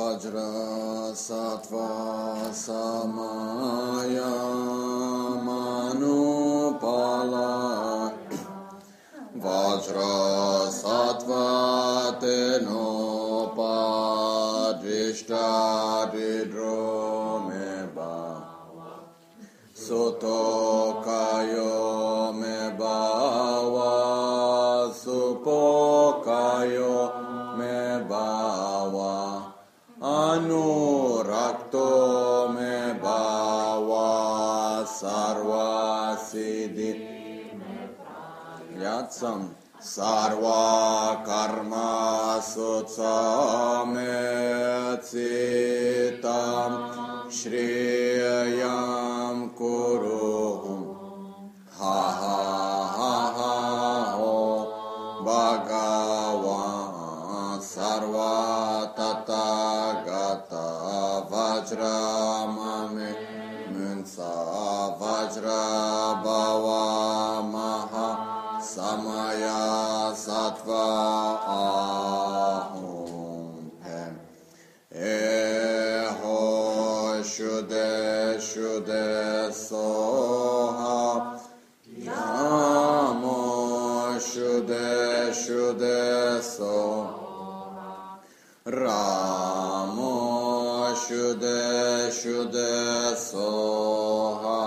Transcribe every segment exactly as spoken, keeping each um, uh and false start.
Vajra Sattva Samaya Manupala Vajra Sattva Tenopa Drishta Didromeba Soto Kayo Mebawa Supo Kayo Mebawa Anurakto Mebawa Sarva Siddhi Yatsam Sarva Karma Sutsametsitam Shriyam Kuruhum Ha ha ha ha ho Bhagavan Sarva Tathagata Vajramame Munsa Vajra Bhava Maha Samaya Sattva Ahum Hem Eho Shude Shude Soha Yamo Shude Shude Soha Ramo Shude Shude Soha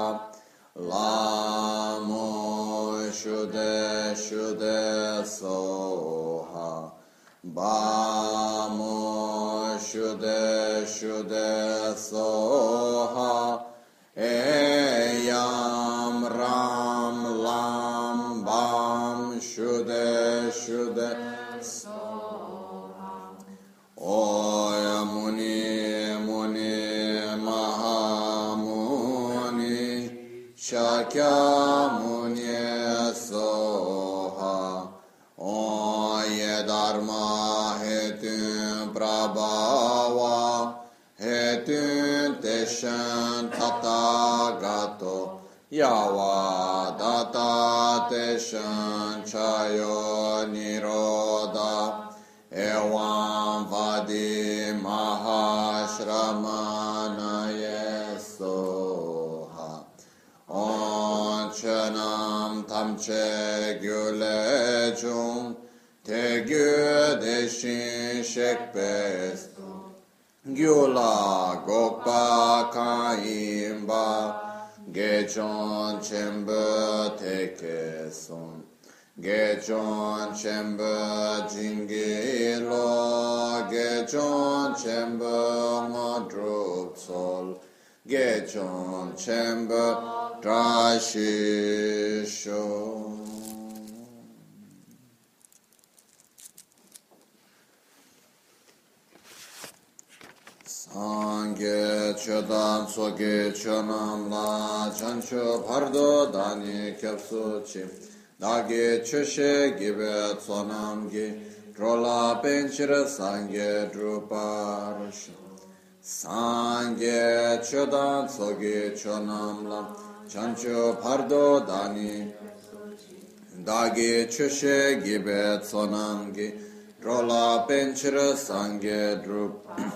Lamo Shude Shude Soha Bamo Shude Shude Soha Eyam Ram Lam Bam Shude Shude Soha Oya Muni Muni Mahamuni Shakya Muni Soha Oye Dharma Hetun Prabhava Hetun Teshan Tathagato Yava Data Teshan Chayo Niroda Evam Vadi Mahashramana Yesoha Onchanam Tamche Gyulechum Te Gyudeshin Shekpes Gyula Gokpa Kaimba Gechon Chemba Tekeson Gechon Chemba Jingilo Gechon Chemba Madrup Sol Gechon Chemba Drashisho Sangye Chodam Soge Chonam La Chancho Pardo Dani Kyapsuchi Dagi Chushe Gibe Tsonam Gi Trola Penchira Sangye Druparsha Sangye Chodam Soge Chonam La Chancho Pardo Dani Dagi Chushe Gibe Tsonam Gi Trola Penchira Sangye Druparsha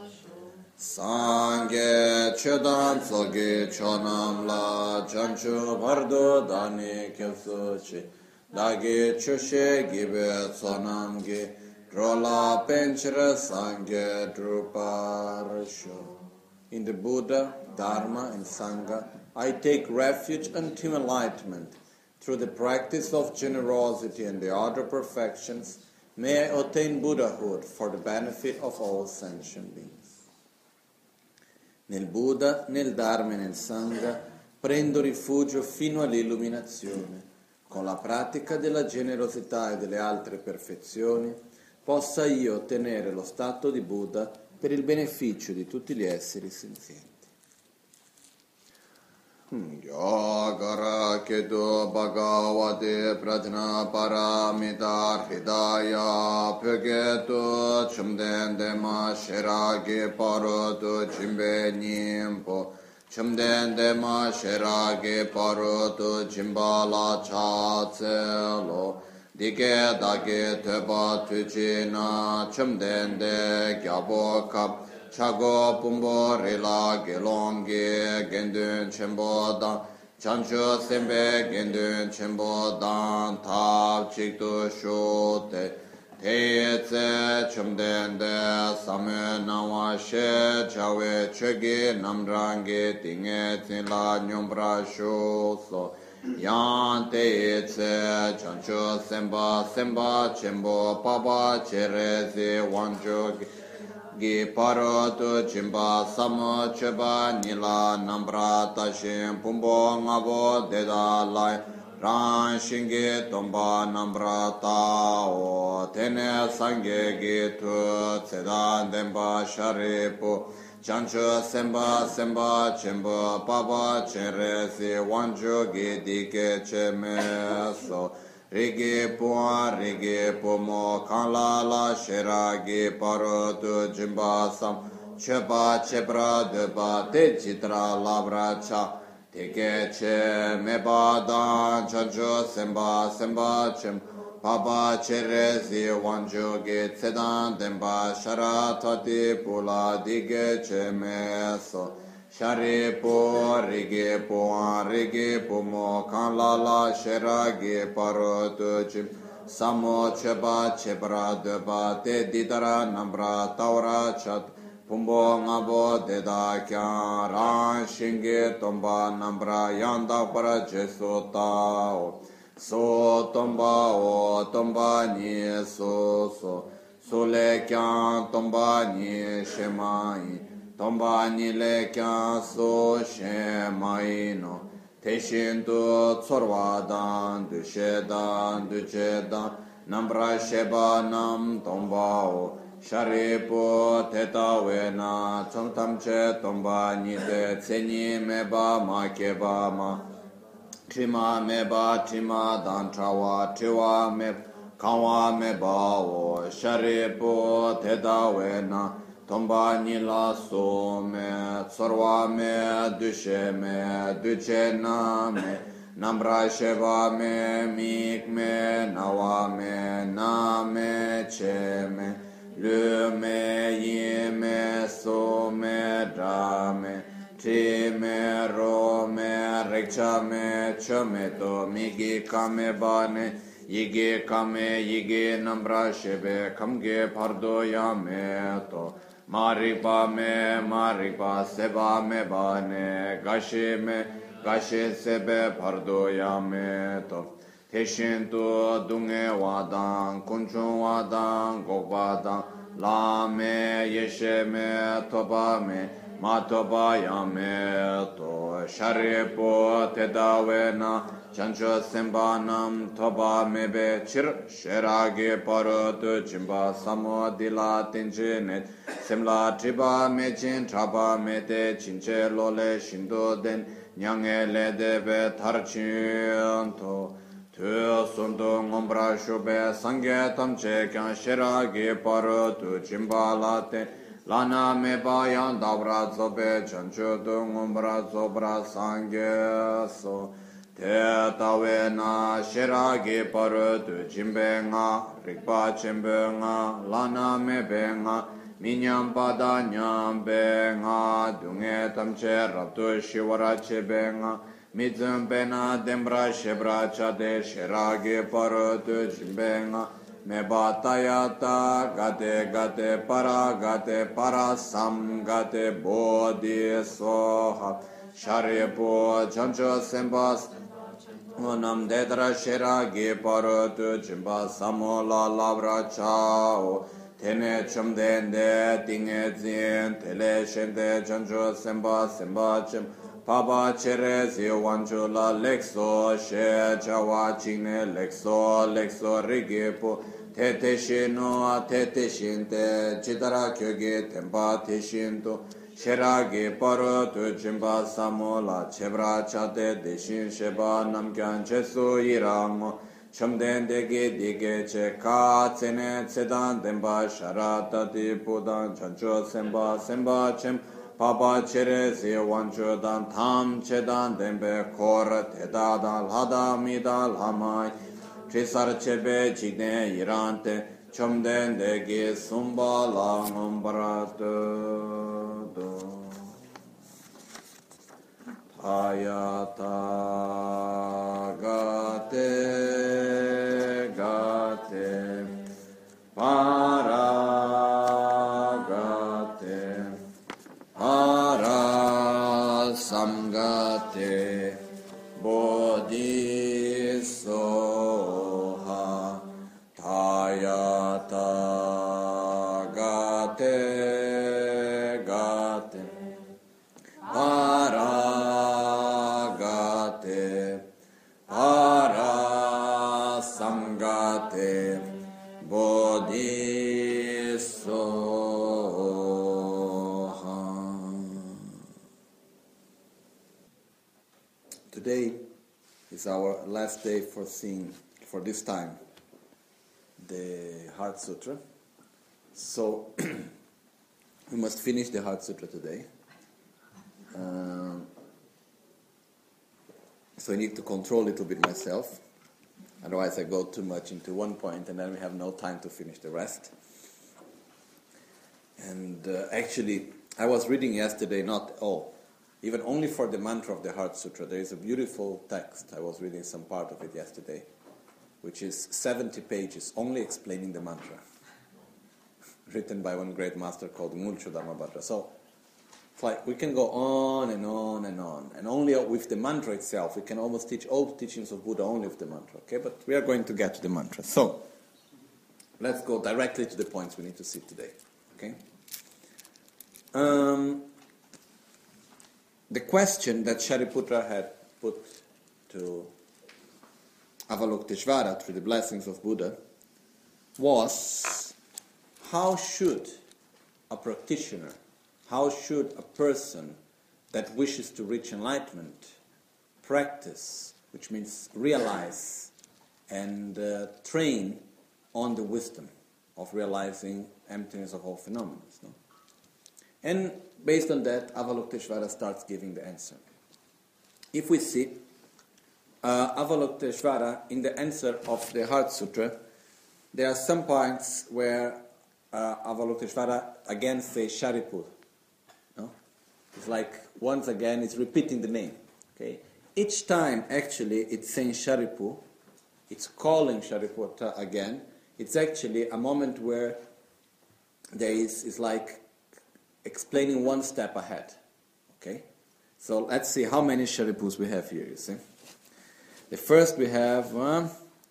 Sangye Chodam Soge Chonam La Chancho Pardo Dani Kyapsuchi Dagi Chushe Gibe Tsonam Gi Trola Penchira Sangye Druparsho. In the Buddha, Dharma and Sangha, I take refuge until enlightenment. Through the practice of generosity and the other perfections, may I attain Buddhahood for the benefit of all sentient beings. Nel Buddha, nel Dharma e nel Sangha prendo rifugio fino all'illuminazione. Con la pratica della generosità e delle altre perfezioni possa io ottenere lo stato di Buddha per il beneficio di tutti gli esseri senzienti. Yogara Kedu Bhagavate Prajna Paramita Hridaya Pyogetu Chumden Dema Shiragi Parotu Jimbe Nyimpo Chumden Dema Shiragi Parotu Jimbala Chatselo dike dake teba tuchi na chumdende gyabo kap chago pumbo rila gelongi gendun chembo dan chancho sembe gendun chembo dan tab chikto shote te tse chumdende samme nawa she chawe chegi namrangi tinge tila nyombra sho so yan te tse chancho semba semba chembo papa cherezi wancho gi paro tu chimba samo cheba nila nambra tashin pumbo ngabo deda lai ran shingi tomba nambra tao tene sange gi tu tseda demba sharipu chancho semba semba chimbo papa cherezi wancho gi dike cheme so rigi puan rigi pumo kanla la shiragi paro tu jimba sam cheba chebra deba te chitra labra cha teke che meba dan chancho semba semba chem papa cherezi wanjo ge tsedan demba shara tati pula dige che me so shari po rigi po rigi pumo kanla la shiragi paro tu chim samo cheba chebra deba te didara nambra taura chat pumbo ngabo deda kya ran shingi tomba nambra yanda para jesu tao so tomba o tomba ni so so sole kya tomba ni shemai tomba ni le kya so shemai no teshin tu tsorwa dan du shedan du chedan nambra sheba nam tomba o sharipo teta wena chomtam che tomba nide tseni meba ma keba ma trima meba trima dan trawa triwa me kawa meba o sharipo teta wena tomba nila so me tsorwa me dushe me duche na me nambra sheva me mik me nawa me na me che me lu me yi me so me dra me tri me ro me rekcha me cho me to migi kame bane yige kame yige nambra shebe kamge pardo ya me to maripa me maripa seba me bane gashe me gashe sebe pardo ya me to teshin tu dunge wadan kunchun wadan gokwadan la me yeshe me toba me ma toba ya me to sharipo tedawe na chancho semba nam toba me be chir sherage paro tu chimba samo dila tinche net semla triba me chin traba me te chinche lole shindo den nyange le debe tarchin to tu sundu ngombra shube sangye tamche kyan shiragi paro tu chimba late lana me bayan dabra zobe chancho tu ngombra zobra sangye so te tawe na shiragi paro tu chimbe nga rikpa chimbe nga lana me be nga minyam pada nyam be nga dunge tamche rabdu shiwara chebe nga mizum pena dembra shebra chade shirage paro tu chimbenga me batayata gate gate para gate para sam gate bodhi soha sharipo chancho sembas onam dedra shirage paro tu chimba samola labra chao tene chumdende tinge zin tele shende chancho semba semba chim Papa Cherezi Wanjula Lexo She Chawa Chine Lexo Lexo Rigipo Tete Shino Tete Shinte Chitara Kyoge Tempa Teshinto Sheragi Paro Tu Chimba Samola Chebra Chate Deshin Sheba Namkyan Chesu Irango Chamden Degi Dige Che Ka Tsene Tsedan Demba Sharata Di Pudan Chancho Semba Semba Chem Papa Cherezi Wancho Dan Tam Chedan Dembe Kor Teda Dan Lada Mida Lamai Trisar chebe jikne yirante chomden degi sumba langam barato do ayata gate gate para gate para samgate bodhi soha tayata gate gate para gate para samgate bodhi soha. Today is our last day for seeing, for this time, the Heart Sutra. So, we must finish the Heart Sutra today. Um, so I need to control a little bit myself. Otherwise I go too much into one point and then we have no time to finish the rest. And uh, actually, I was reading yesterday, not all, even only for the mantra of the Heart Sutra. There is a beautiful text. I was reading some part of it yesterday, which is seventy pages, only explaining the mantra, written by one great master called Mulcho Dharmabhadra. So, it's like we can go on and on and on, and only with the mantra itself, we can almost teach all the teachings of Buddha only with the mantra, okay? But we are going to get to the mantra. So, let's go directly to the points we need to see today, okay? Um, the question that Shariputra had put to Avalokiteshvara through the blessings of Buddha was, how should a practitioner, how should a person that wishes to reach enlightenment practice, which means realize and uh, train on the wisdom of realizing emptiness of all phenomena? No? And based on that, Avalokiteshvara starts giving the answer. If we see uh, Avalokiteshvara in the answer of the Heart Sutra, there are some points where uh, Avalokiteshvara again says Shariputra. No? It's like, once again, it's repeating the name. Okay? Each time, actually, it's saying Shariputra, it's calling Shariputra again. It's actually a moment where there is, is like explaining one step ahead. Okay? So let's see how many Shariputras we have here, you see. The first we have uh,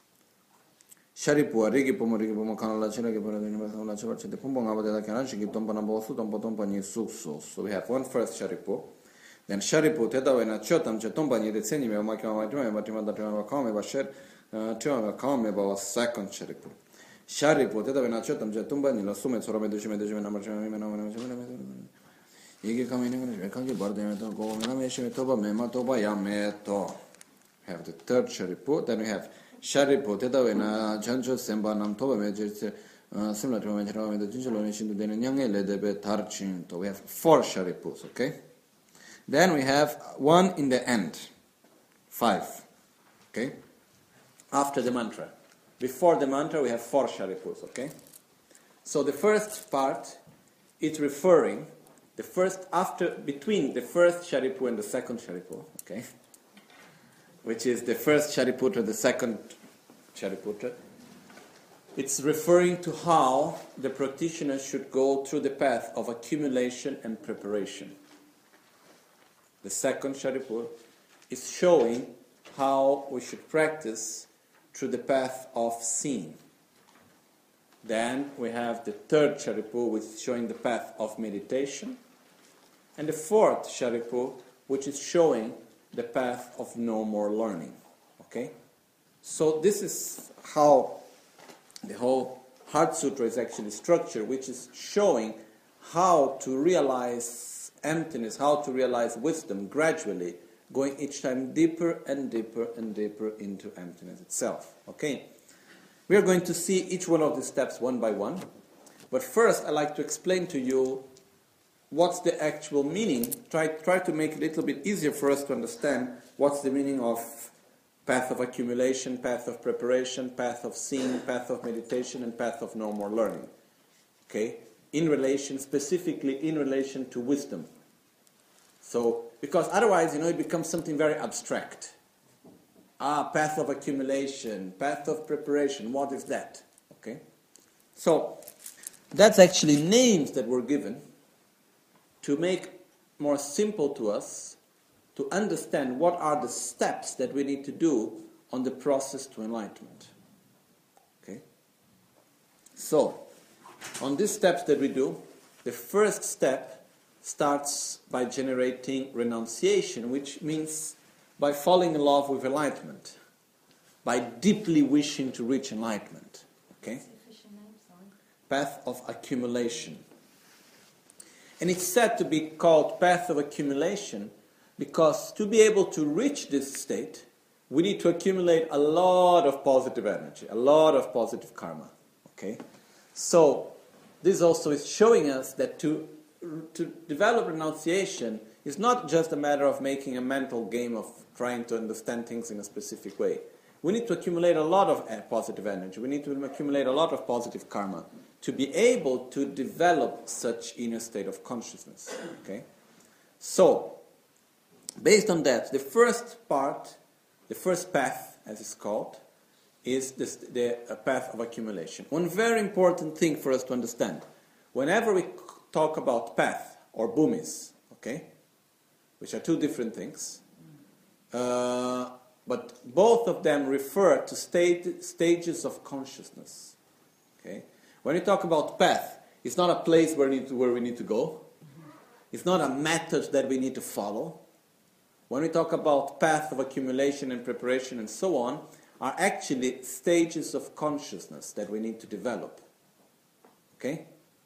Shariputra, Rigi Pomo, Rigi Pomo, Kanala, Chiragi, Pomo, Church, the Pumbo, Abada, Kanachi, Tompana, Bosu, Tompotompani, Sukso. So we have one first Shariputra. Then Shariputra, Tedawena, Chotam, Chetompani, the Seni, Makama, Matima, Kame, Basher, Tima, Kame, Bawa, second Shariputra. Shariputra, Tedawena, Chotam, Chetompani, La Sumet, Sorame, Dushime, Dushime, Namachame, Igi Kamini, Kangi Bardemeto, Go, Nameshime, Toba, Mema, Toba, Yameto. Have the third Shariputra. Then we have Shariputra, Tedawena, Chancho, Semba, Nam, Toba, Major, similar to Major, the Jinjalo Nation, the Nyangele, the Tarchin. So we have four Shariputras, okay? Then we have one in the end. Five. Okay? After the mantra. Before the mantra, we have four Shariputras, okay? So the first part is referring, the first, after, between the first Shariputra and the second Shariputra, okay? Which is the first Shariputra, the second Shariputra. It's referring to how the practitioner should go through the path of accumulation and preparation. The second Shariputra is showing how we should practice through the path of seeing. Then we have the third Shariputra, which is showing the path of meditation. And the fourth Shariputra, which is showing the path of no more learning. Okay? So this is how the whole Heart Sutra is actually structured, which is showing how to realize emptiness, how to realize wisdom gradually, going each time deeper and deeper and deeper into emptiness itself. Okay? We are going to see each one of these steps one by one. But first, I'd like to explain to you what's the actual meaning. Try, try to make it a little bit easier for us to understand what's the meaning of path of accumulation, path of preparation, path of seeing, path of meditation, and path of no more learning. Okay? In relation, specifically in relation to wisdom. So, because otherwise, you know, it becomes something very abstract. Ah, path of accumulation, path of preparation, what is that? Okay? So, that's actually names that were given to make more simple to us to understand what are the steps that we need to do on the process to enlightenment. Okay? So, on these steps that we do, the first step starts by generating renunciation, which means by falling in love with enlightenment, by deeply wishing to reach enlightenment. Okay? Path of accumulation. And it's said to be called path of accumulation because to be able to reach this state, we need to accumulate a lot of positive energy, a lot of positive karma. Okay? So, this also is showing us that to, to develop renunciation is not just a matter of making a mental game of trying to understand things in a specific way. We need to accumulate a lot of positive energy. We need to accumulate a lot of positive karma to be able to develop such inner state of consciousness. Okay? So, based on that, the first part, the first path, as it's called, is this, the uh, path of accumulation. One very important thing for us to understand, whenever we talk about path or bhumis, okay, which are two different things, uh, but both of them refer to state, stages of consciousness. Okay? When we talk about path, it's not a place where we need to, where we need to go. It's not a method that we need to follow. When we talk about path of accumulation and preparation and so on, are actually stages of consciousness that we need to develop. Okay?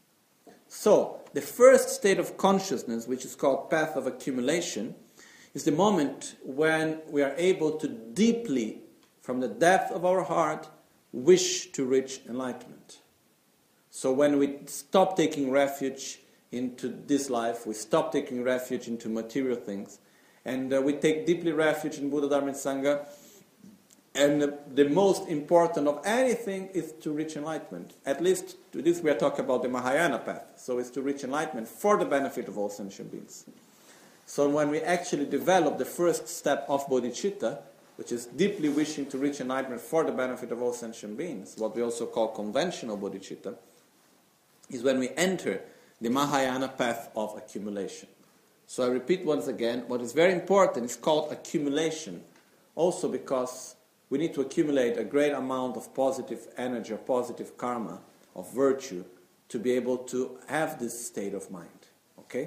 So, the first state of consciousness, which is called path of accumulation, is the moment when we are able to deeply, from the depth of our heart, wish to reach enlightenment. So when we stop taking refuge into this life, we stop taking refuge into material things, and uh, we take deeply refuge in Buddha, Dharma, and Sangha, and uh, the most important of anything is to reach enlightenment. At least to this we are talking about the Mahayana path, so it's to reach enlightenment for the benefit of all sentient beings. So when we actually develop the first step of bodhicitta, which is deeply wishing to reach enlightenment for the benefit of all sentient beings, what we also call conventional bodhicitta, is when we enter the Mahayana path of accumulation. So I repeat once again, what is very important is called accumulation, also because we need to accumulate a great amount of positive energy or positive karma, of virtue, to be able to have this state of mind. Okay?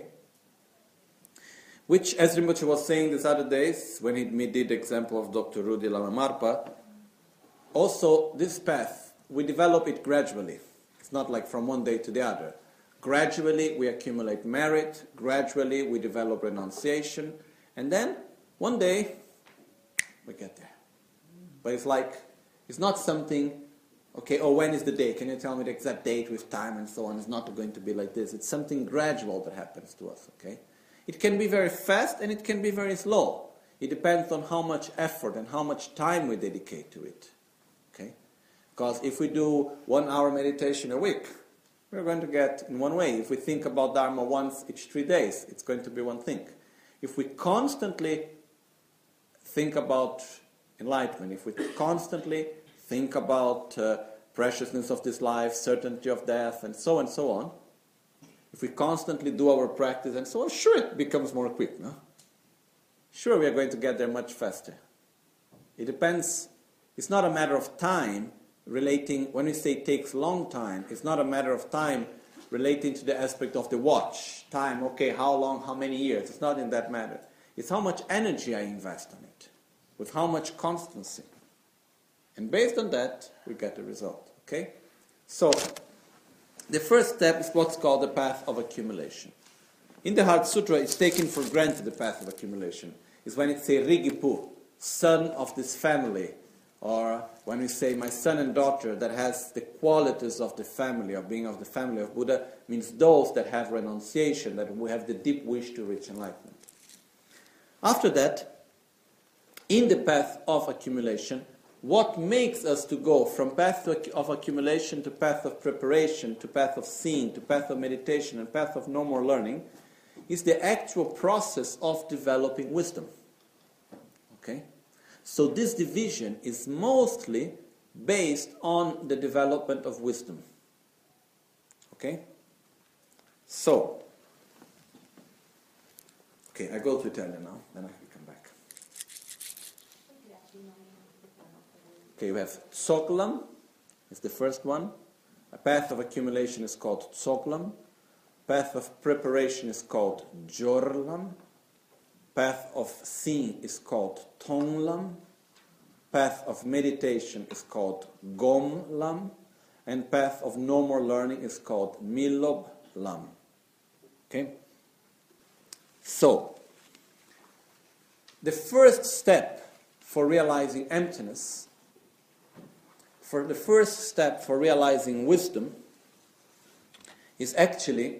Which, as Rinpoche was saying these other days, when he did the example of Doctor Rudy Lama Marpa, also this path, we develop it gradually. It's not like from one day to the other. Gradually we accumulate merit, gradually we develop renunciation, and then one day we get there. But it's like, it's not something, okay, oh, when is the day? Can you tell me the exact date with time and so on? It's not going to be like this. It's something gradual that happens to us, okay? It can be very fast and it can be very slow. It depends on how much effort and how much time we dedicate to it. Okay? Because if we do one hour meditation a week, we're going to get in one way. If we think about Dharma once each three days, it's going to be one thing. If we constantly think about enlightenment, if we constantly think about uh, preciousness of this life, certainty of death, and so on and so on, if we constantly do our practice and so on, sure it becomes more quick, no? Sure we are going to get there much faster. It depends, it's not a matter of time relating, when we say it takes long time, it's not a matter of time relating to the aspect of the watch. Time, okay, how long, how many years, it's not in that matter. It's how much energy I invest on it, with how much constancy. And based on that, we get the result, okay? So, the first step is what's called the path of accumulation. In the Heart Sutra, it's taken for granted the path of accumulation. It's when it says Rigipu, son of this family, or when we say my son and daughter, that has the qualities of the family, of being of the family of Buddha, means those that have renunciation, that we have the deep wish to reach enlightenment. After that, in the path of accumulation, what makes us to go from path of accumulation to path of preparation, to path of seeing, to path of meditation, and path of no more learning, is the actual process of developing wisdom. Okay? So this division is mostly based on the development of wisdom. Okay? So, okay, I go to Italian now, then I can come back. Okay, we have Tsoglam, is the first one. A path of accumulation is called Tsoglam. Path of preparation is called Jorlam. Path of seeing is called Tonglam. Path of meditation is called Gomlam. And path of no more learning is called Miloblam. Okay? So, the first step for realizing emptiness, for the first step for realizing wisdom, is actually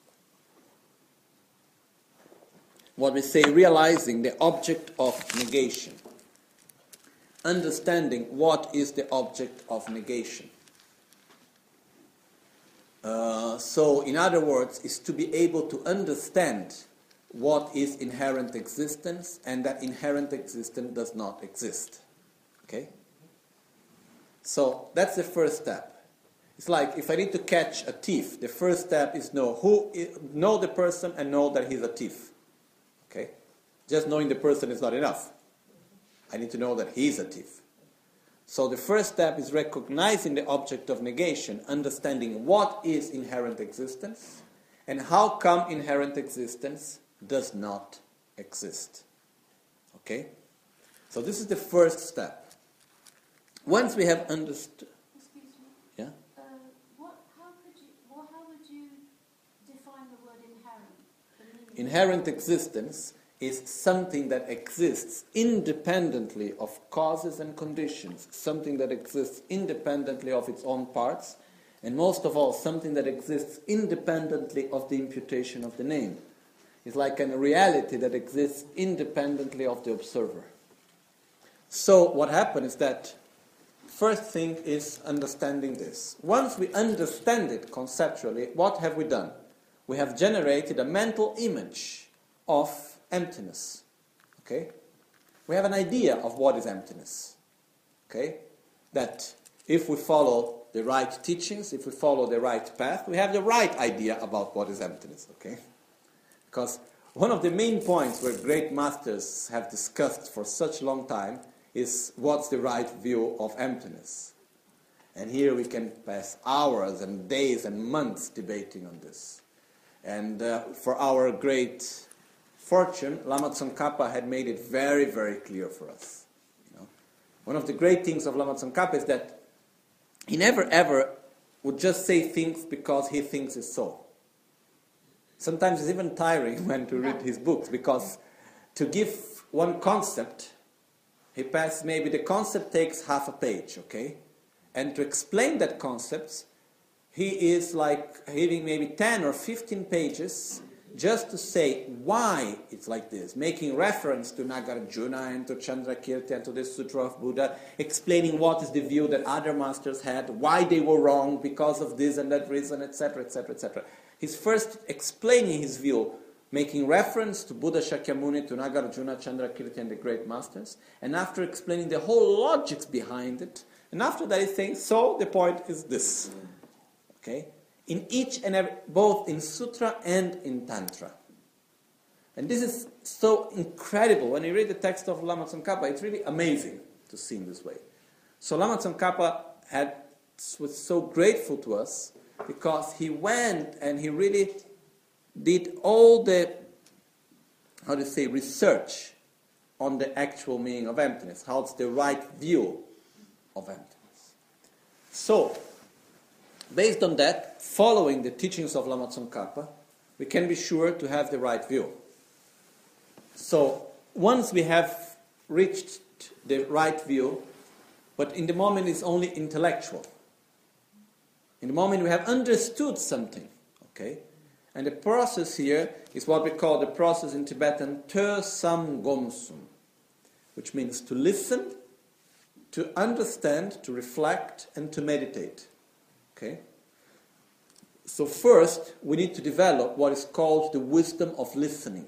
what we say realizing the object of negation. Understanding what is the object of negation. Uh, so, in other words, is to be able to understand what is inherent existence and that inherent existence does not exist. Okay? So, that's the first step. It's like if I need to catch a thief, the first step is know who is, know the person and know that he's a thief. Okay? Just knowing the person is not enough. I need to know that he's a thief. So the first step is recognizing the object of negation, understanding what is inherent existence, and how come inherent existence does not exist. Okay? So this is the first step. Once we have understood... Excuse me? Yeah? Uh, what, how, could you, well, how would you define the word inherent? The meaning? Inherent existence is something that exists independently of causes and conditions, something that exists independently of its own parts, and most of all, something that exists independently of the imputation of the name. It's like a reality that exists independently of the observer. So what happened is that first thing is understanding this. Once we understand it conceptually, what have we done? We have generated a mental image of emptiness. Okay? We have an idea of what is emptiness. Okay? That if we follow the right teachings, if we follow the right path, we have the right idea about what is emptiness. Okay? Because one of the main points where great masters have discussed for such a long time is what's the right view of emptiness. And here we can pass hours and days and months debating on this. And uh, for our great fortune, Lama Tsongkhapa had made it very, very clear for us. You know? One of the great things of Lama Tsongkhapa is that he never ever would just say things because he thinks it's so. Sometimes it's even tiring when to read his books, because to give one concept, he passes, maybe the concept takes half a page, okay? And to explain that concept, he is like having maybe ten or fifteen pages just to say why it's like this, making reference to Nagarjuna and to Chandrakirti and to the Sutra of Buddha, explaining what is the view that other masters had, why they were wrong because of this and that reason, et cetera, et cetera, et cetera. He's first explaining his view, making reference to Buddha Shakyamuni, to Nagarjuna, Chandrakirti, and the great masters, and after explaining the whole logics behind it, and after that he's saying, so the point is this. Okay? In each and every, both in Sutra and in Tantra. And this is so incredible. When you read the text of Lama Tsongkhapa, it's really amazing to see in this way. So Lama Tsongkhapa had, was so grateful to us because he went and he really did all the, how to say, research on the actual meaning of emptiness. How it's the right view of emptiness. So, based on that, following the teachings of Lama Tsongkhapa, we can be sure to have the right view. So, once we have reached the right view, but in the moment it's only intellectual. In the moment we have understood something, okay? And the process here is what we call the process in Tibetan Te Sam Gomsum, which means to listen, to understand, to reflect, and to meditate. Okay? So first, we need to develop what is called the wisdom of listening.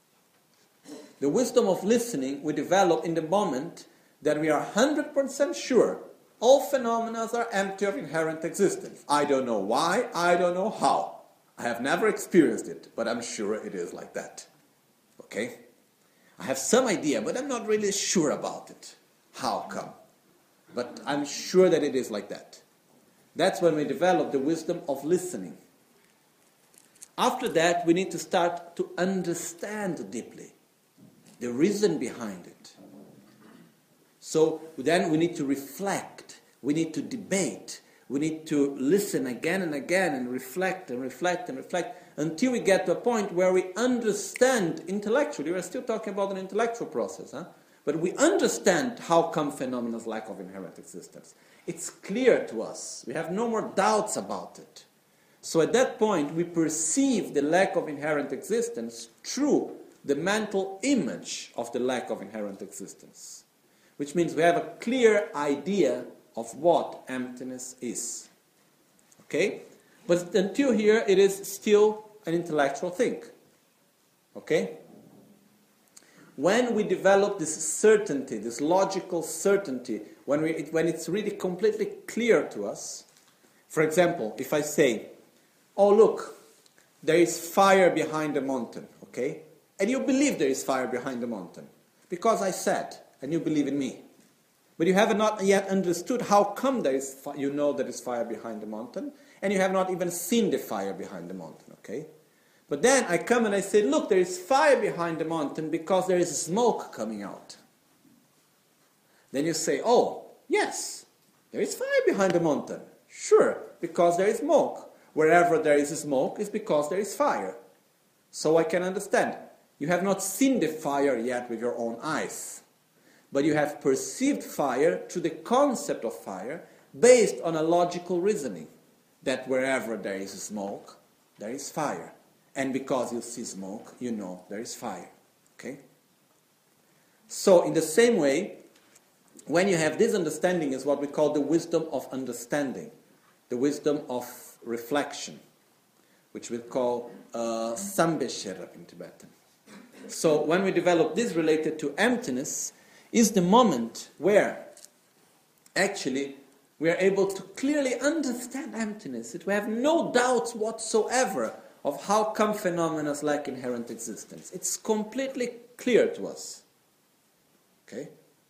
The wisdom of listening we develop in the moment that we are one hundred percent sure all phenomena are empty of inherent existence. I don't know why, I don't know how. I have never experienced it, but I'm sure it is like that. Okay? I have some idea, but I'm not really sure about it. How come? But I'm sure that it is like that. That's when we develop the wisdom of listening. After that, we need to start to understand deeply the reason behind it. So then we need to reflect, we need to debate, we need to listen again and again and reflect and reflect and reflect until we get to a point where we understand intellectually. We're still talking about an intellectual process, huh? But we understand how come phenomena lack of inherent existence. It's clear to us. We have no more doubts about it. So at that point, we perceive the lack of inherent existence through the mental image of the lack of inherent existence. Which means we have a clear idea of what emptiness is. Okay? But until here, it is still an intellectual thing. Okay? When we develop this certainty, this logical certainty, when, we, it, when it's really completely clear to us, for example, if I say, oh look, there is fire behind the mountain, okay? And you believe there is fire behind the mountain, because I said, and you believe in me. But you have not yet understood how come there is fi- you know there is fire behind the mountain, and you have not even seen the fire behind the mountain, okay? But then I come and I say, look, there is fire behind the mountain because there is smoke coming out. Then you say, oh, yes, there is fire behind the mountain. Sure, because there is smoke. Wherever there is smoke is because there is fire. So I can understand. You have not seen the fire yet with your own eyes. But you have perceived fire through the concept of fire based on a logical reasoning. That wherever there is smoke, there is fire. And because you see smoke, you know there is fire. Okay? So in the same way, when you have this understanding is what we call the wisdom of understanding. The wisdom of reflection. Which we call uh, Sambesherap in Tibetan. So when we develop this related to emptiness, is the moment where actually we are able to clearly understand emptiness. We have no doubts whatsoever of how come phenomena lack inherent existence. It's completely clear to us. Okay?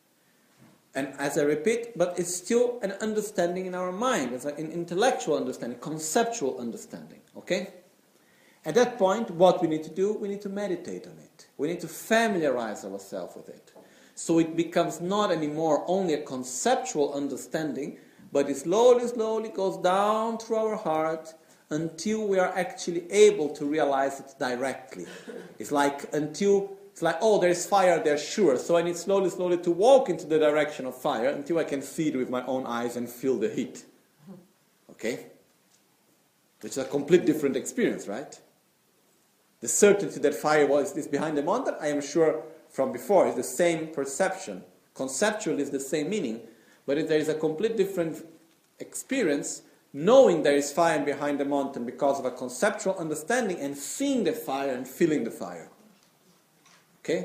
And as I repeat, but it's still an understanding in our mind. It's an intellectual understanding, conceptual understanding. Okay? At that point, what we need to do, we need to meditate on it. We need to familiarize ourselves with it. So it becomes not anymore only a conceptual understanding, but it slowly, slowly goes down through our heart until we are actually able to realize it directly. It's like until, it's like, oh, there's fire there, sure. So I need slowly, slowly to walk into the direction of fire until I can see it with my own eyes and feel the heat. Okay? Which is a complete different experience, right? The certainty that fire was is behind the mountain, I am sure from before, is the same perception. Conceptually, is the same meaning, but if there is a complete different experience, knowing there is fire behind the mountain because of a conceptual understanding and seeing the fire and feeling the fire. Okay?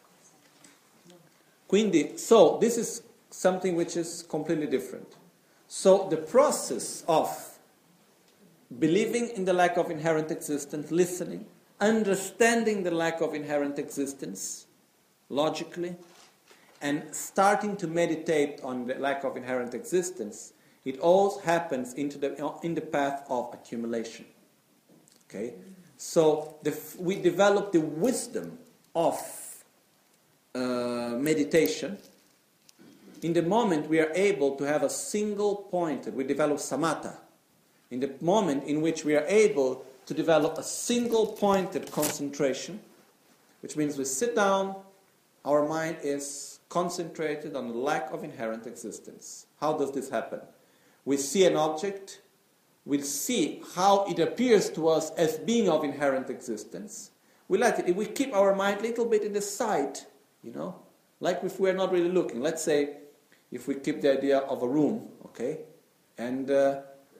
Quindi, so this is something which is completely different. So the process of believing in the lack of inherent existence, listening, understanding the lack of inherent existence logically, and starting to meditate on the lack of inherent existence, it all happens into the, in the path of accumulation. Okay? So the, we develop the wisdom of uh, meditation. In the moment we are able to have a single pointed, we develop samatha. In the moment in which we are able to develop a single pointed concentration, which means we sit down, our mind is concentrated on the lack of inherent existence. How does this happen? We see an object, we see how it appears to us as being of inherent existence. We let it, we keep our mind a little bit in the side, you know, Like if we're not really looking. Let's say if we keep the idea of a room, okay? And uh,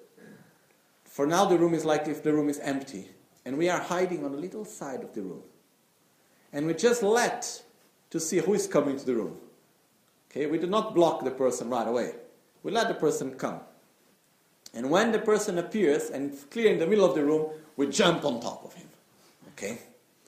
for now the room is like if the room is empty. And we are hiding on a little side of the room. And we just let to see who is coming to the room. Okay? We do not block the person right away. We let the person come. And when the person appears and it's clear in the middle of the room, we jump on top of him. Okay?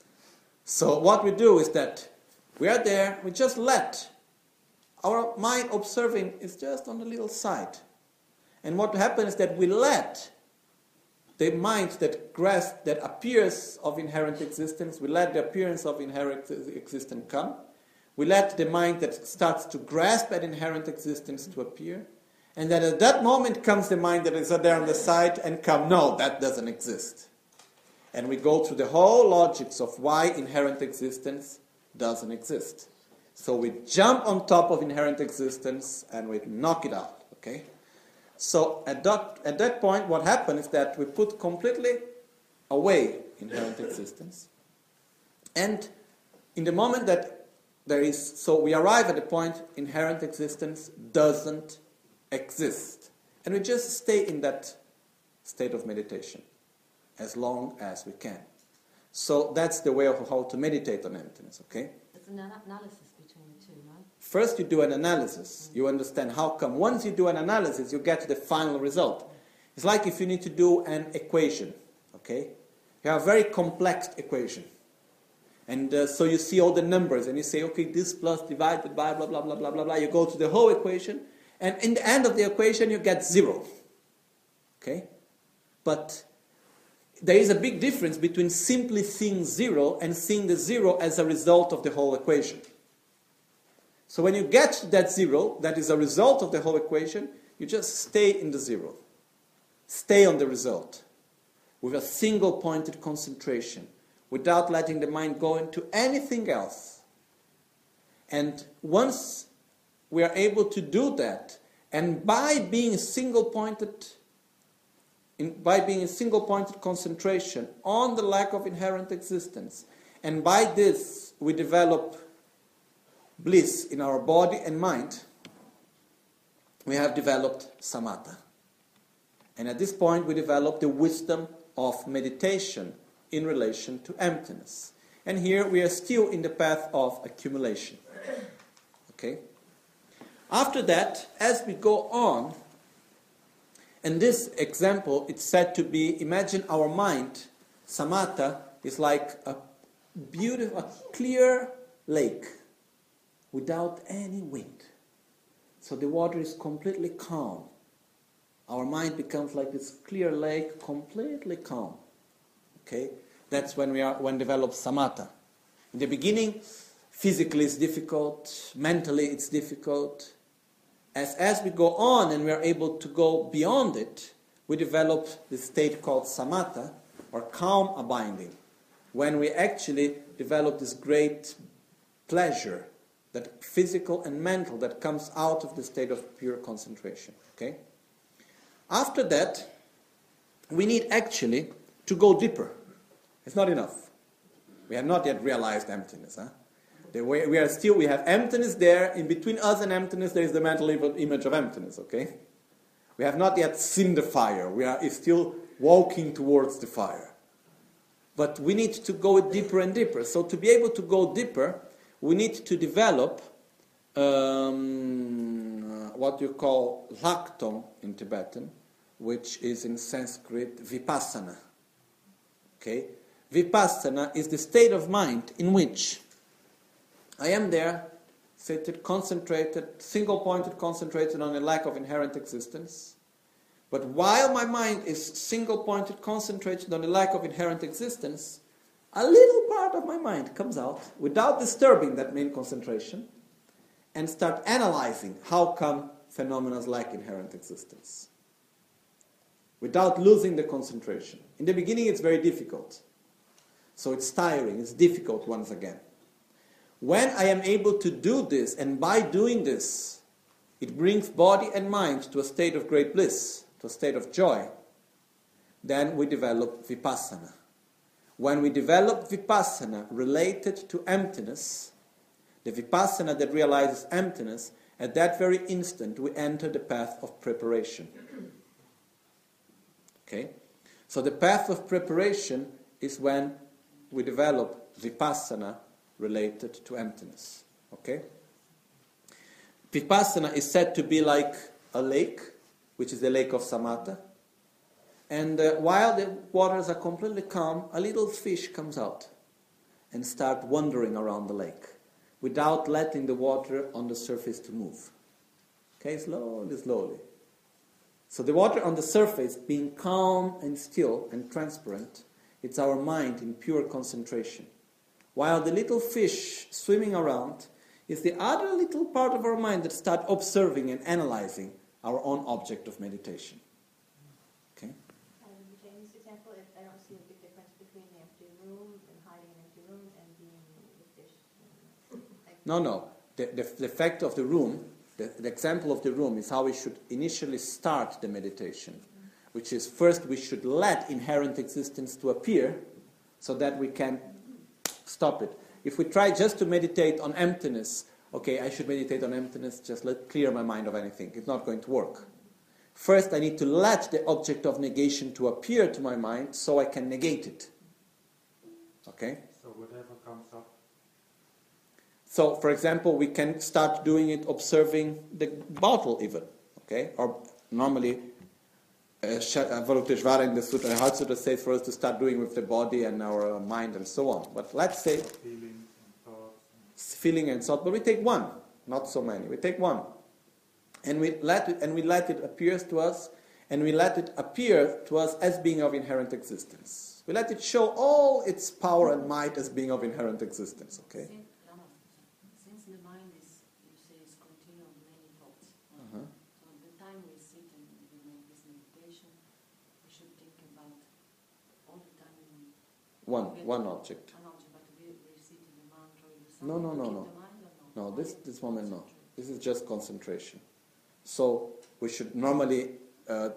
So what we do is that we are there, we just let. Our mind observing is just on the little side. And what happens is that we let the mind that grasp, that appears of inherent existence, we let the appearance of inherent existence come. We let the mind that starts to grasp at inherent existence to appear. And then at that moment comes the mind that is there on the side and come, no, that doesn't exist. And we go through the whole logics of why inherent existence doesn't exist. So we jump on top of inherent existence and we knock it out, okay? So at that, at that point, what happens is that we put completely away inherent existence. And in the moment that there is, so we arrive at the point inherent existence doesn't exist. And we just stay in that state of meditation as long as we can. So that's the way of how to meditate on emptiness, okay? It's an analysis between the two, right? First you do an analysis. You understand how come. Once you do an analysis, you get to the final result. It's like if you need to do an equation, okay? You have a very complex equation. And uh, so you see all the numbers and you say, okay, this plus divided by blah, blah, blah, blah, blah, blah. You go to the whole equation. And in the end of the equation, you get zero. Okay? But there is a big difference between simply seeing zero and seeing the zero as a result of the whole equation. So when you get to that zero, that is a result of the whole equation, you just stay in the zero. Stay on the result. With a single pointed concentration. Without letting the mind go into anything else. And once we are able to do that, and by being single-pointed, in, by being a single-pointed concentration on the lack of inherent existence, and by this we develop bliss in our body and mind, we have developed samatha. And at this point we develop the wisdom of meditation in relation to emptiness. And here we are still in the path of accumulation. Okay? After that, as we go on, and this example, it's said to be, imagine our mind, samatha, is like a beautiful, a clear lake without any wind. So the water is completely calm. Our mind becomes like this clear lake, completely calm. Okay? That's when we are, when develop samatha. In the beginning, physically it's difficult, mentally it's difficult. As, as we go on and we are able to go beyond it, we develop this state called samatha, or calm abiding, when we actually develop this great pleasure, that physical and mental, that comes out of the state of pure concentration. Okay? After that, we need actually to go deeper. It's not enough. We have not yet realized emptiness. Huh? The way we are still, we have emptiness there. In between us and emptiness, there is the mental image of emptiness. Okay, we have not yet seen the fire. We are still walking towards the fire. But we need to go deeper and deeper. So to be able to go deeper, we need to develop um, what you call lakton in Tibetan, which is in Sanskrit vipassana. Okay, vipassana is the state of mind in which I am there, seated, concentrated, single-pointed, concentrated on a lack of inherent existence. But while my mind is single-pointed, concentrated on the lack of inherent existence, a little part of my mind comes out without disturbing that main concentration and start analyzing how come phenomena lack inherent existence. Without losing the concentration. In the beginning it's very difficult. So it's tiring, it's difficult once again. When I am able to do this, and by doing this, it brings body and mind to a state of great bliss, to a state of joy, then we develop vipassana. When we develop vipassana related to emptiness, the vipassana that realizes emptiness, at that very instant we enter the path of preparation. Okay? So the path of preparation is when we develop vipassana related to emptiness. Okay? Vipassana is said to be like a lake, which is the lake of samatha. And uh, while the waters are completely calm, a little fish comes out and starts wandering around the lake without letting the water on the surface to move. Okay, slowly, slowly. So the water on the surface being calm and still and transparent, it's our mind in pure concentration. While the little fish swimming around is the other little part of our mind that starts observing and analyzing our own object of meditation. Okay? And in this example, if I don't see a big difference between the empty room and hiding in an empty room and being the fish. Like No, no. The, the, the fact of the room, the, the example of the room is how we should initially start the meditation, mm-hmm. which is first we should let inherent existence to appear so that we can stop it. If we try just to meditate on emptiness, okay, I should meditate on emptiness, just let clear my mind of anything. It's not going to work. First, I need to let the object of negation to appear to my mind so I can negate it. Okay? So whatever comes up. So, for example, we can start doing it observing the bottle even. Okay? Or normally, Avalokiteshvara in the Sutra, Heart Sutra says for us to start doing with the body and our mind and so on. But let's say Feelings and thoughts. feeling and thought, but we take one, not so many. We take one, and we let it, and we let it appear to us, and we let it appear to us as being of inherent existence. We let it show all its power and might as being of inherent existence. Okay. Since, Lama, since the mind is, you say, is continual many thoughts, Uh-huh. so the time we sit and we make this meditation, we should think about all the time we One, one object. an object, but we recite the mantra, we do No, no, something to no, keep no. the mind or No, Only this this moment no. concentrate. This is just concentration. So we should normally, uh,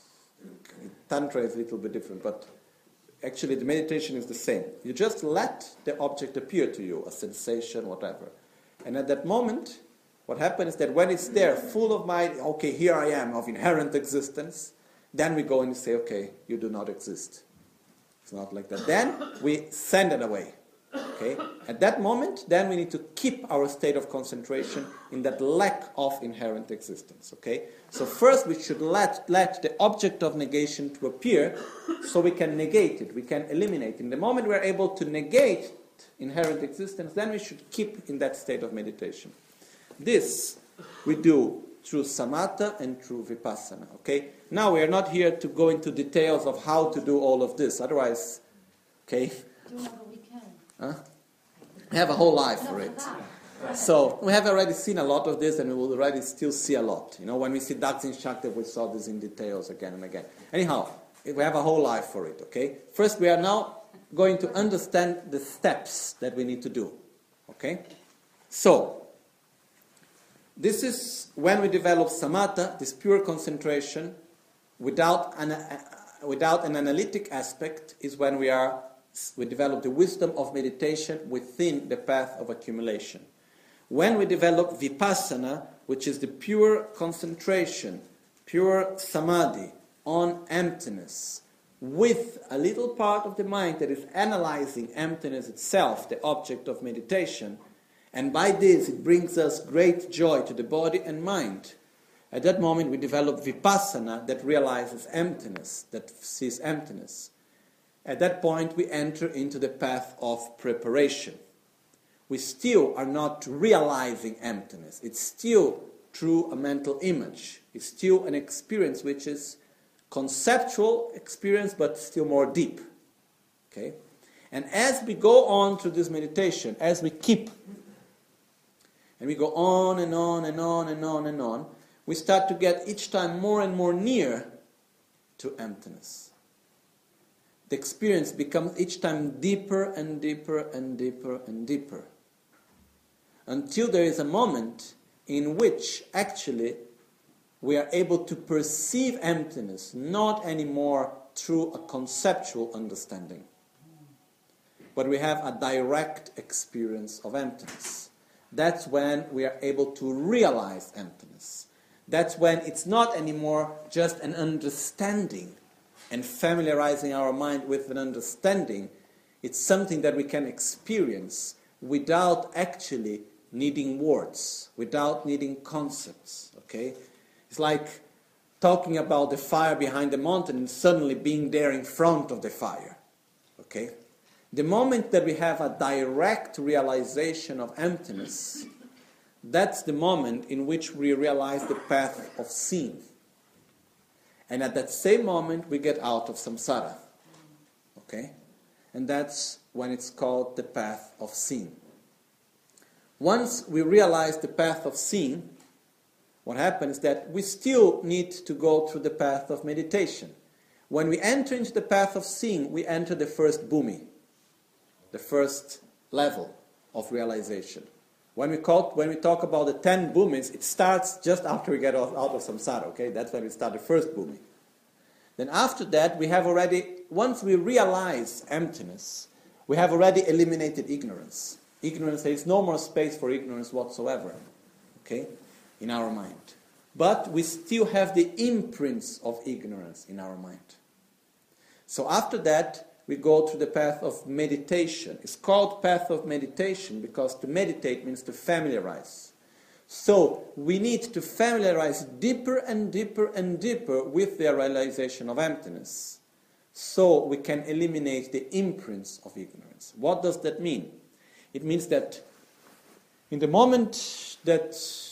Tantra is a little bit different, but actually the meditation is the same. You just let the object appear to you, a sensation, whatever. And at that moment, what happens is that when it's there, full of mind, okay, here I am, of inherent existence, then we go and say, okay, you do not exist. It's not like that. Then we send it away. Okay? At that moment, then we need to keep our state of concentration in that lack of inherent existence. Okay? So first we should let, let the object of negation to appear so we can negate it, we can eliminate it. In the moment we're able to negate inherent existence, then we should keep in that state of meditation. This we do through samatha and through vipassana. Okay? Now we are not here to go into details of how to do all of this. Otherwise, okay? Do whatever we can. Huh? We have a whole life for it. So we have already seen a lot of this, and we will already still see a lot. You know, when we see Daksin Shakti, we saw this in details again and again. Anyhow, we have a whole life for it. Okay. First, we are now going to understand the steps that we need to do. Okay. So this is when we develop samatha, this pure concentration, without an uh, without an analytic aspect, is when we are. We develop the wisdom of meditation within the path of accumulation. When we develop vipassana, which is the pure concentration, pure samadhi on emptiness, with a little part of the mind that is analyzing emptiness itself, the object of meditation, and by this it brings us great joy to the body and mind. At that moment we develop vipassana that realizes emptiness, that sees emptiness. At that point, we enter into the path of preparation. We still are not realizing emptiness. It's still through a mental image. It's still an experience which is conceptual experience, but still more deep. Okay? And as we go on through this meditation, as we keep, and we go on and on and on and on and on, we start to get each time more and more near to emptiness. The experience becomes each time deeper and deeper and deeper and deeper. Until there is a moment in which actually we are able to perceive emptiness, not anymore through a conceptual understanding, but we have a direct experience of emptiness. that's when we are able to realize emptiness. That's when it's not anymore just an understanding and familiarizing our mind with an understanding. It's something that we can experience without actually needing words, without needing concepts, okay? It's like talking about the fire behind the mountain and suddenly being there in front of the fire, okay? The moment that we have a direct realization of emptiness, that's the moment in which we realize the path of seeing. And at that same moment, we get out of samsara, okay? And that's when it's called the path of seeing. Once we realize the path of seeing, what happens is that we still need to go through the path of meditation. When we enter into the path of seeing, we enter the first bhumi, the first level of realization. When we, call, when we talk about the ten bhumis, it starts just after we get out, out of samsara, okay? That's when we start the first bhumi. Then after that, we have already, once we realize emptiness, we have already eliminated ignorance. Ignorance, there is no more space for ignorance whatsoever, okay, in our mind. But we still have the imprints of ignorance in our mind. So after that, we go through the path of meditation. It's called path of meditation because to meditate means to familiarize. So we need to familiarize deeper and deeper and deeper with the realization of emptiness, so we can eliminate the imprints of ignorance. What does that mean? It means that in the moment that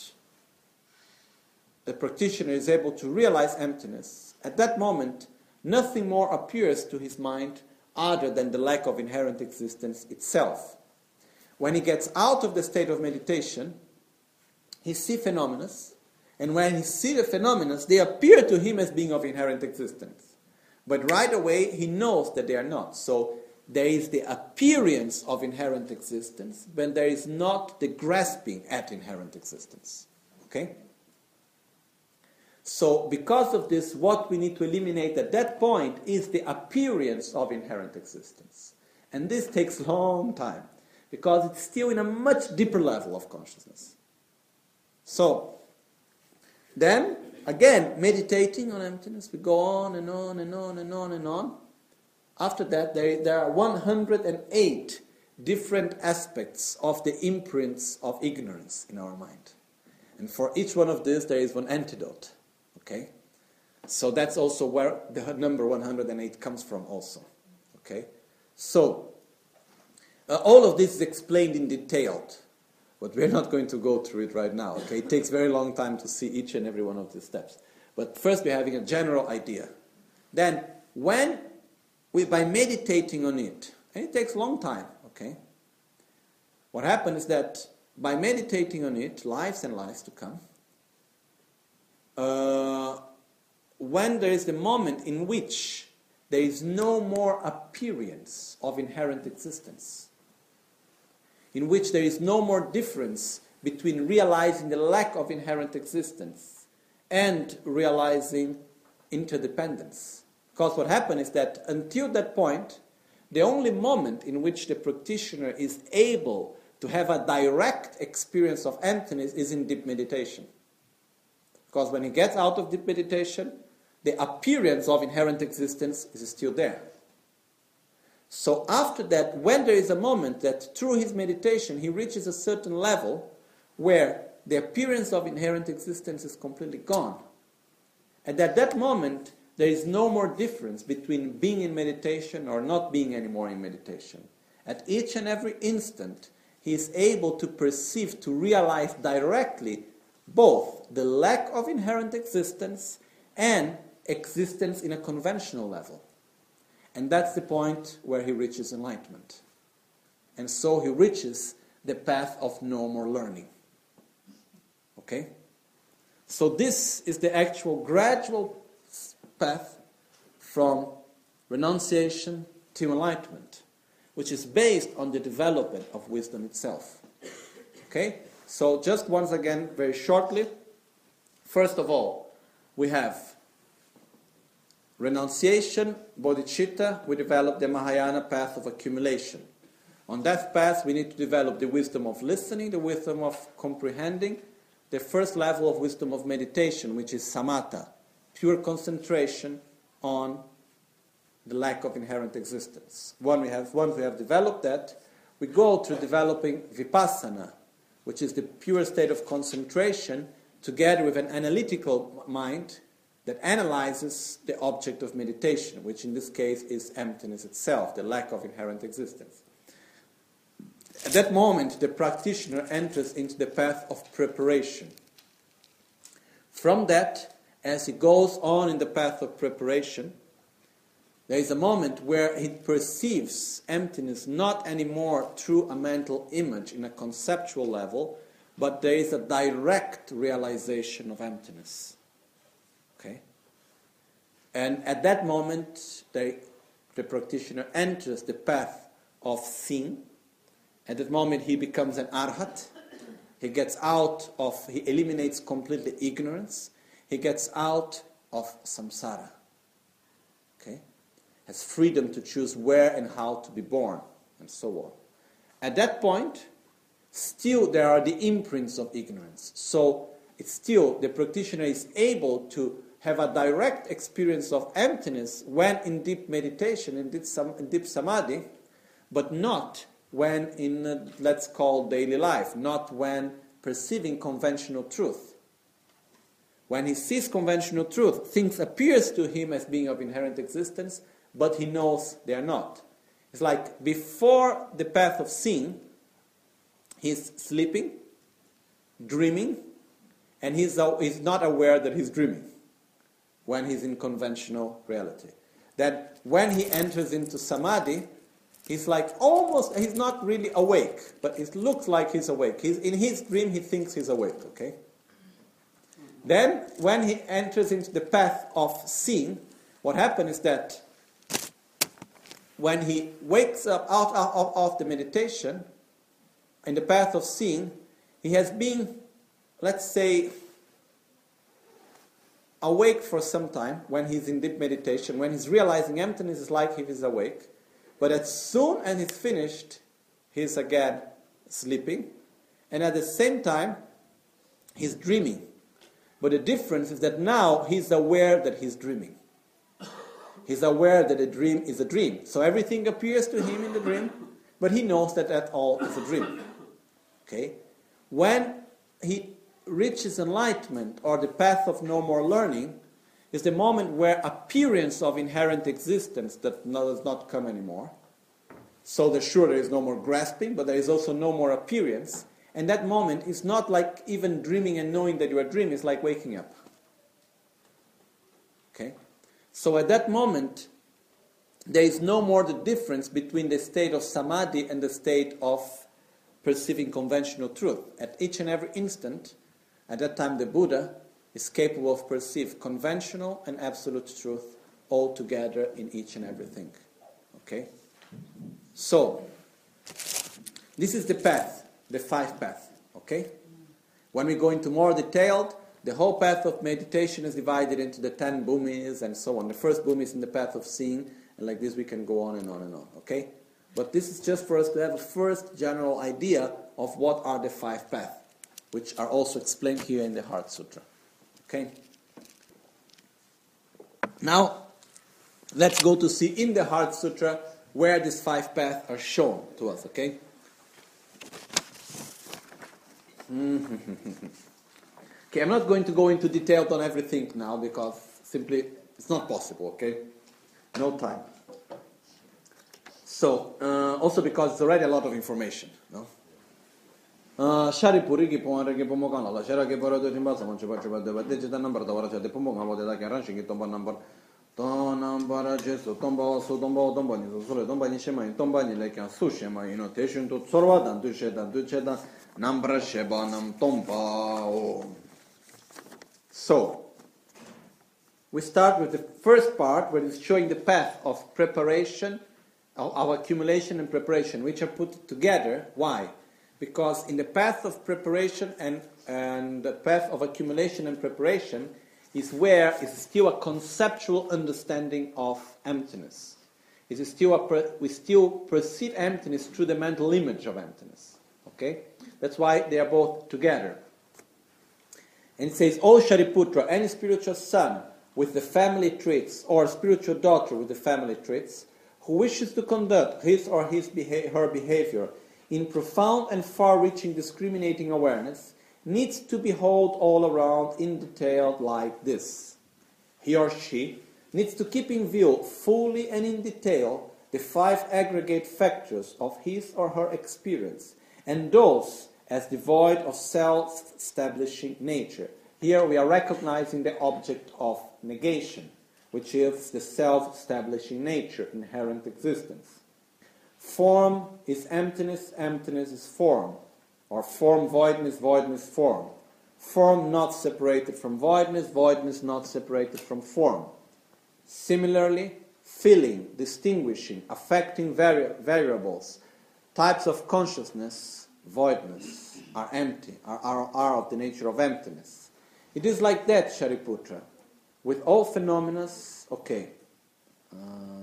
the practitioner is able to realize emptiness, at that moment, nothing more appears to his mind other than the lack of inherent existence itself. When he gets out of the state of meditation, he sees phenomena, and when he sees the phenomena, they appear to him as being of inherent existence. But right away, he knows that they are not. So there is the appearance of inherent existence, but there is not the grasping at inherent existence. Okay? So because of this, what we need to eliminate at that point is the appearance of inherent existence. And this takes a long time, because it's still in a much deeper level of consciousness. So, then, again, meditating on emptiness, we go on and on and on and on and on. After that, there, there are one hundred eight different aspects of the imprints of ignorance in our mind. And for each one of these, there is one antidote. Okay? So that's also where the number one hundred eight comes from also. Okay? So, uh, all of this is explained in detail, but we're not going to go through it right now. Okay? It takes very long time to see each and every one of these steps. But first we're having a general idea. Then, when we, by meditating on it, and it takes a long time, okay? What happens is that by meditating on it, lives and lives to come, uh, when there is the moment in which there is no more appearance of inherent existence, in which there is no more difference between realizing the lack of inherent existence and realizing interdependence. Because what happens is that until that point, the only moment in which the practitioner is able to have a direct experience of emptiness is in deep meditation. Because when he gets out of deep meditation, the appearance of inherent existence is still there. So after that, when there is a moment that through his meditation he reaches a certain level where the appearance of inherent existence is completely gone, and at that moment there is no more difference between being in meditation or not being anymore in meditation. At each and every instant, he is able to perceive, to realize directly both the lack of inherent existence and existence in a conventional level. And that's the point where he reaches enlightenment. And so he reaches the path of no more learning. Okay? So this is the actual gradual path from renunciation to enlightenment, which is based on the development of wisdom itself. Okay? So just once again, very shortly, first of all, we have renunciation, bodhicitta, we develop the Mahayana path of accumulation. On that path, we need to develop the wisdom of listening, the wisdom of comprehending, the first level of wisdom of meditation, which is samatha, pure concentration on the lack of inherent existence. When we have, once we have developed that, we go through developing vipassana, which is the pure state of concentration, together with an analytical mind that analyzes the object of meditation, which in this case is emptiness itself, the lack of inherent existence. At that moment, the practitioner enters into the path of preparation. From that, as he goes on in the path of preparation, there is a moment where he perceives emptiness not anymore through a mental image in a conceptual level, but there is a direct realization of emptiness. Okay? And at that moment, the, the practitioner enters the path of seeing. At that moment, he becomes an arhat. He gets out of, he eliminates completely ignorance. He gets out of samsara. Okay? Has freedom to choose where and how to be born, and so on. At that point, still there are the imprints of ignorance. So it's still, the practitioner is able to have a direct experience of emptiness when in deep meditation, in deep, in deep samadhi, but not when in, uh, let's call daily life, not when perceiving conventional truth. When he sees conventional truth, things appears to him as being of inherent existence, but he knows they are not. It's like before the path of seeing, he's sleeping, dreaming, and he's, uh, he's not aware that he's dreaming when he's in conventional reality. That when he enters into samadhi, he's like almost, he's not really awake, but it looks like he's awake. He's, in his dream, he thinks he's awake, okay? Then, when he enters into the path of seeing, what happens is that when he wakes up out of, of the meditation, in the path of seeing, he has been, let's say, awake for some time when he's in deep meditation. When he's realizing emptiness, is like if he's awake. But as soon as he's finished, he's again sleeping. And at the same time, he's dreaming. But the difference is that now he's aware that he's dreaming. He's aware that a dream is a dream. So everything appears to him in the dream, but he knows that that all is a dream. Okay? When he reaches enlightenment, or the path of no more learning, is the moment where appearance of inherent existence that does not come anymore. So there's sure there is no more grasping, but there is also no more appearance. And that moment is not like even dreaming and knowing that you are dreaming, it's like waking up. Okay? So at that moment, there is no more the difference between the state of samadhi and the state of perceiving conventional truth. At each and every instant, at that time the Buddha is capable of perceiving conventional and absolute truth all together in each and everything. Okay? So, this is the path, the five path. Okay? When we go into more detailed, the whole path of meditation is divided into the ten bhumis and so on. The first bhumi is in the path of seeing, and like this we can go on and on and on. Okay? But this is just for us to have a first general idea of what are the five paths, which are also explained here in the Heart Sutra. Okay? Now, let's go to see in the Heart Sutra where these five paths are shown to us, okay? Okay, I'm not going to go into detail on everything now because simply it's not possible, okay? No time. So, uh, also because it's already a lot of information, no? Shari puri ki pon rege pomo kan la shara ke poro do timba samon chuba chuba de de jeta number da wara de pomo ngabo de da kan ranchi ki tomba number to number jesu tomba so tomba tomba ni so le tomba ni shema tomba ni le kan su shema ino te shun to sorwa dan du she dan du che dan number sheba nam tomba. So we start with the first part where it's showing the path of preparation, of our accumulation and preparation, which are put together. Why? Because in the path of preparation and, and the path of accumulation and preparation is where is still a conceptual understanding of emptiness. is still a per, we still perceive emptiness through the mental image of emptiness. Okay? That's why they are both together. And it says, O Shariputra, any spiritual son with the family traits, or spiritual daughter with the family traits, who wishes to conduct his or his beha- her behavior in profound and far-reaching discriminating awareness, needs to behold all around in detail like this. He or she needs to keep in view fully and in detail the five aggregate factors of his or her experience, and those as devoid of self-establishing nature. Here we are recognizing the object of negation, which is the self-establishing nature, inherent existence. Form is emptiness, emptiness is form, or form voidness, voidness form. Form not separated from voidness, voidness not separated from form. Similarly, feeling, distinguishing, affecting vari- variables, types of consciousness, voidness, are empty, are, are, are of the nature of emptiness. It is like that, Shariputra. With all phenomena, okay. Uh,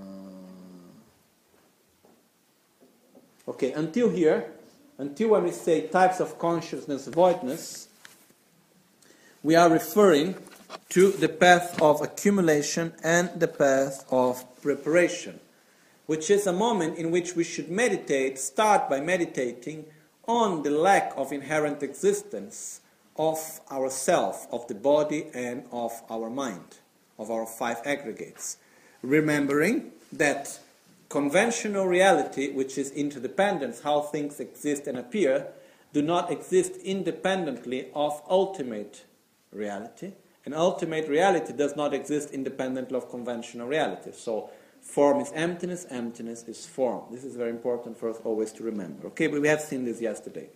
okay, until here, until when we say types of consciousness, voidness, we are referring to the path of accumulation and the path of preparation, which is a moment in which we should meditate, start by meditating on the lack of inherent existence of ourself, of the body and of our mind, of our five aggregates. Remembering that conventional reality, which is interdependence, how things exist and appear, do not exist independently of ultimate reality, and ultimate reality does not exist independently of conventional reality. So form is emptiness, emptiness is form. This is very important for us always to remember. Okay, but we have seen this yesterday.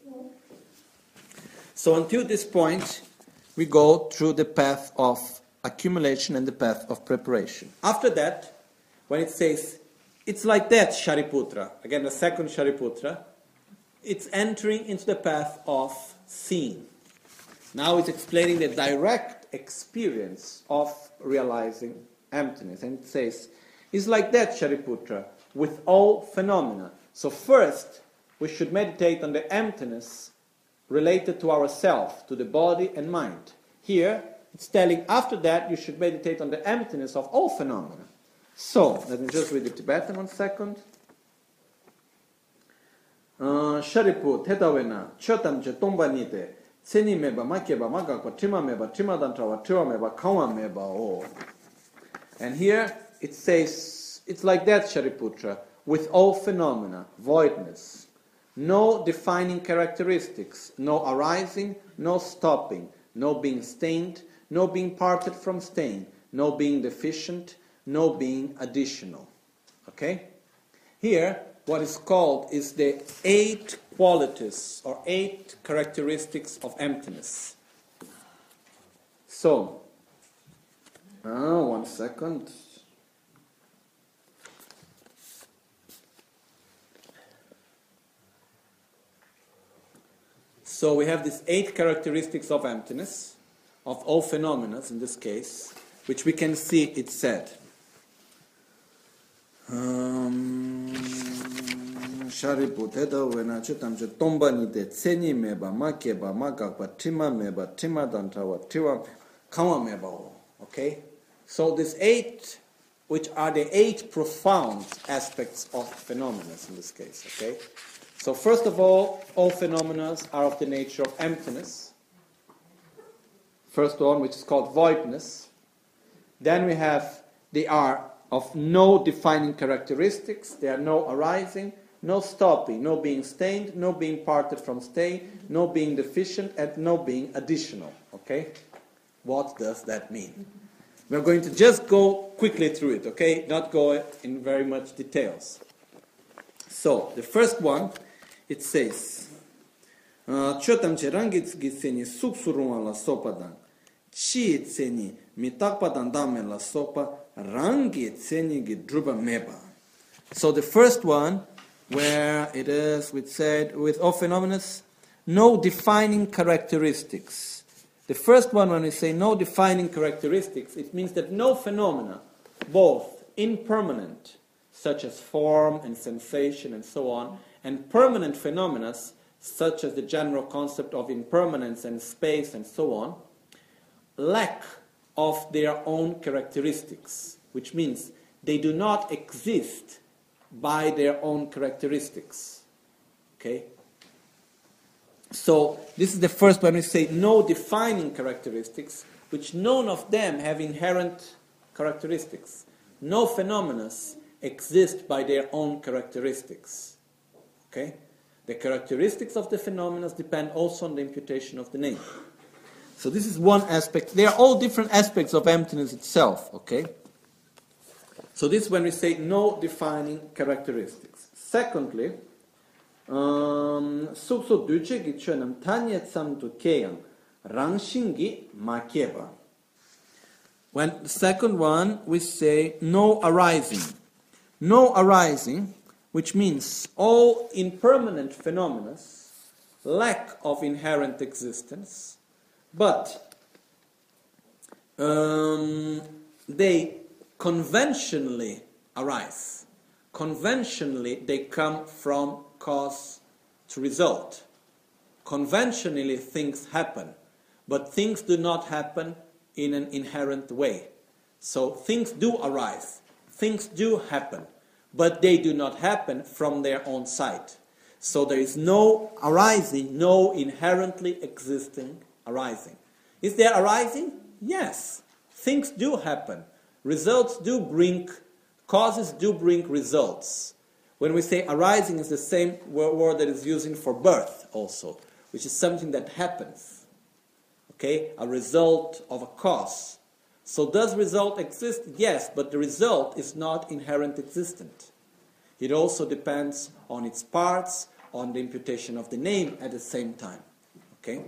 So until this point, we go through the path of accumulation and the path of preparation. After that, when it says, it's like that, Shariputra, again the second Shariputra, it's entering into the path of seeing. Now it's explaining the direct experience of realizing emptiness. And it says, it's like that, Shariputra, with all phenomena. So first, we should meditate on the emptiness related to ourself, to the body and mind. Here, it's telling, after that, you should meditate on the emptiness of all phenomena. So, let me just read the Tibetan one second. Shariput, Hetawena, Chotam che Tombanite, Tseni meba, Makeba, Magakwa, Tima meba, Tima dantrawa, Tima meba, Kawa meba, oh. And here, it says, it's like that, Shariputra, with all phenomena, voidness, no defining characteristics, no arising, no stopping, no being stained, no being parted from stain, no being deficient, no being additional. Okay? Here, what is called is the eight qualities or eight characteristics of emptiness. So, uh, one second. So we have these eight characteristics of emptiness, of all phenomena in this case, which we can see it said. Shariputeta wena chutam che tomba ni de tseni meba makeba magakwa tima meba tima dantawa tiwa kawa meba. Okay? So these eight, which are the eight profound aspects of phenomena in this case. Okay? So first of all, all phenomena are of the nature of emptiness. First one, which is called voidness. Then we have, they are of no defining characteristics. They are no arising, no stopping, no being stained, no being parted from stain, no being deficient, and no being additional. Okay? What does that mean? We're going to just go quickly through it, okay? Not go in very much details. So, the first one, it says, Chotam che rangit giseni suksuruma la sopadan, chi tseni mitakpadan dame la sopa, rangi tseni gidruba meba. So the first one, where it is, we said, with all phenomena, no defining characteristics. The first one, when we say no defining characteristics, it means that no phenomena, both impermanent, such as form and sensation and so on, and permanent phenomena, such as the general concept of impermanence and space and so on, lack of their own characteristics, which means they do not exist by their own characteristics. Okay? So this is the first one. We say no defining characteristics, which none of them have inherent characteristics. No phenomena exist by their own characteristics. Okay? The characteristics of the phenomena depend also on the imputation of the name. So this is one aspect. They are all different aspects of emptiness itself. Okay? So this is when we say no defining characteristics. Secondly, um, sukso duche gi chönam tanye tsam tu keyang rangshingi makeba. When the second one, we say no arising. No arising, which means all impermanent phenomena lack of inherent existence, but um, they conventionally arise. Conventionally, they come from cause to result. Conventionally, things happen, but things do not happen in an inherent way. So things do arise, things do happen, but they do not happen from their own side. So there is no arising, no inherently existing arising. Is there arising? Yes. Things do happen. Results do bring, causes do bring results. When we say arising, is the same word that is used for birth also, which is something that happens. Okay? A result of a cause. So does result exist? Yes, but the result is not inherent existent. It also depends on its parts, on the imputation of the name at the same time. Okay?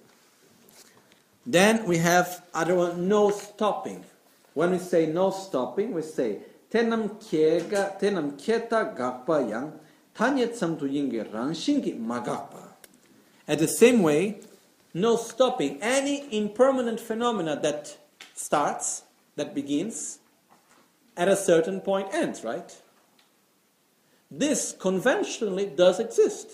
Then we have other one, no stopping. When we say no stopping, we say tenam kiega, tenam kieta gakpa yang, tanyet samtu yinge rangshingi magakpa. At the same way, no stopping. Any impermanent phenomena that starts, that begins, at a certain point ends, right? This conventionally does exist,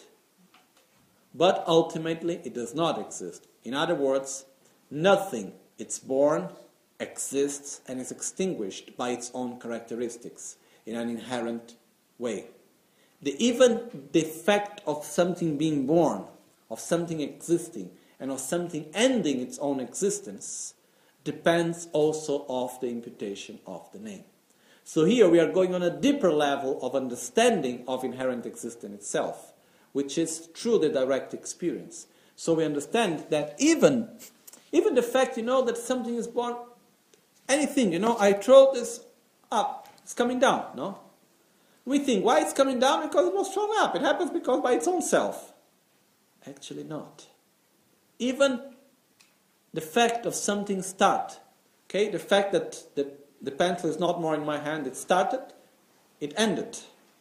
but ultimately it does not exist. In other words, nothing, it's born, exists, and is extinguished by its own characteristics in an inherent way. The, even the fact of something being born, of something existing, and of something ending its own existence depends also of the imputation of the name. So here we are going on a deeper level of understanding of inherent existence itself, which is through the direct experience. So we understand that even, even the fact, you know, that something is born, anything, you know, I throw this up, it's coming down, no? We think, why it's coming down? Because it was thrown up. It happens because by its own self. Actually not. Even the fact of something start, okay, the fact that the, the pencil is not more in my hand, it started, it ended.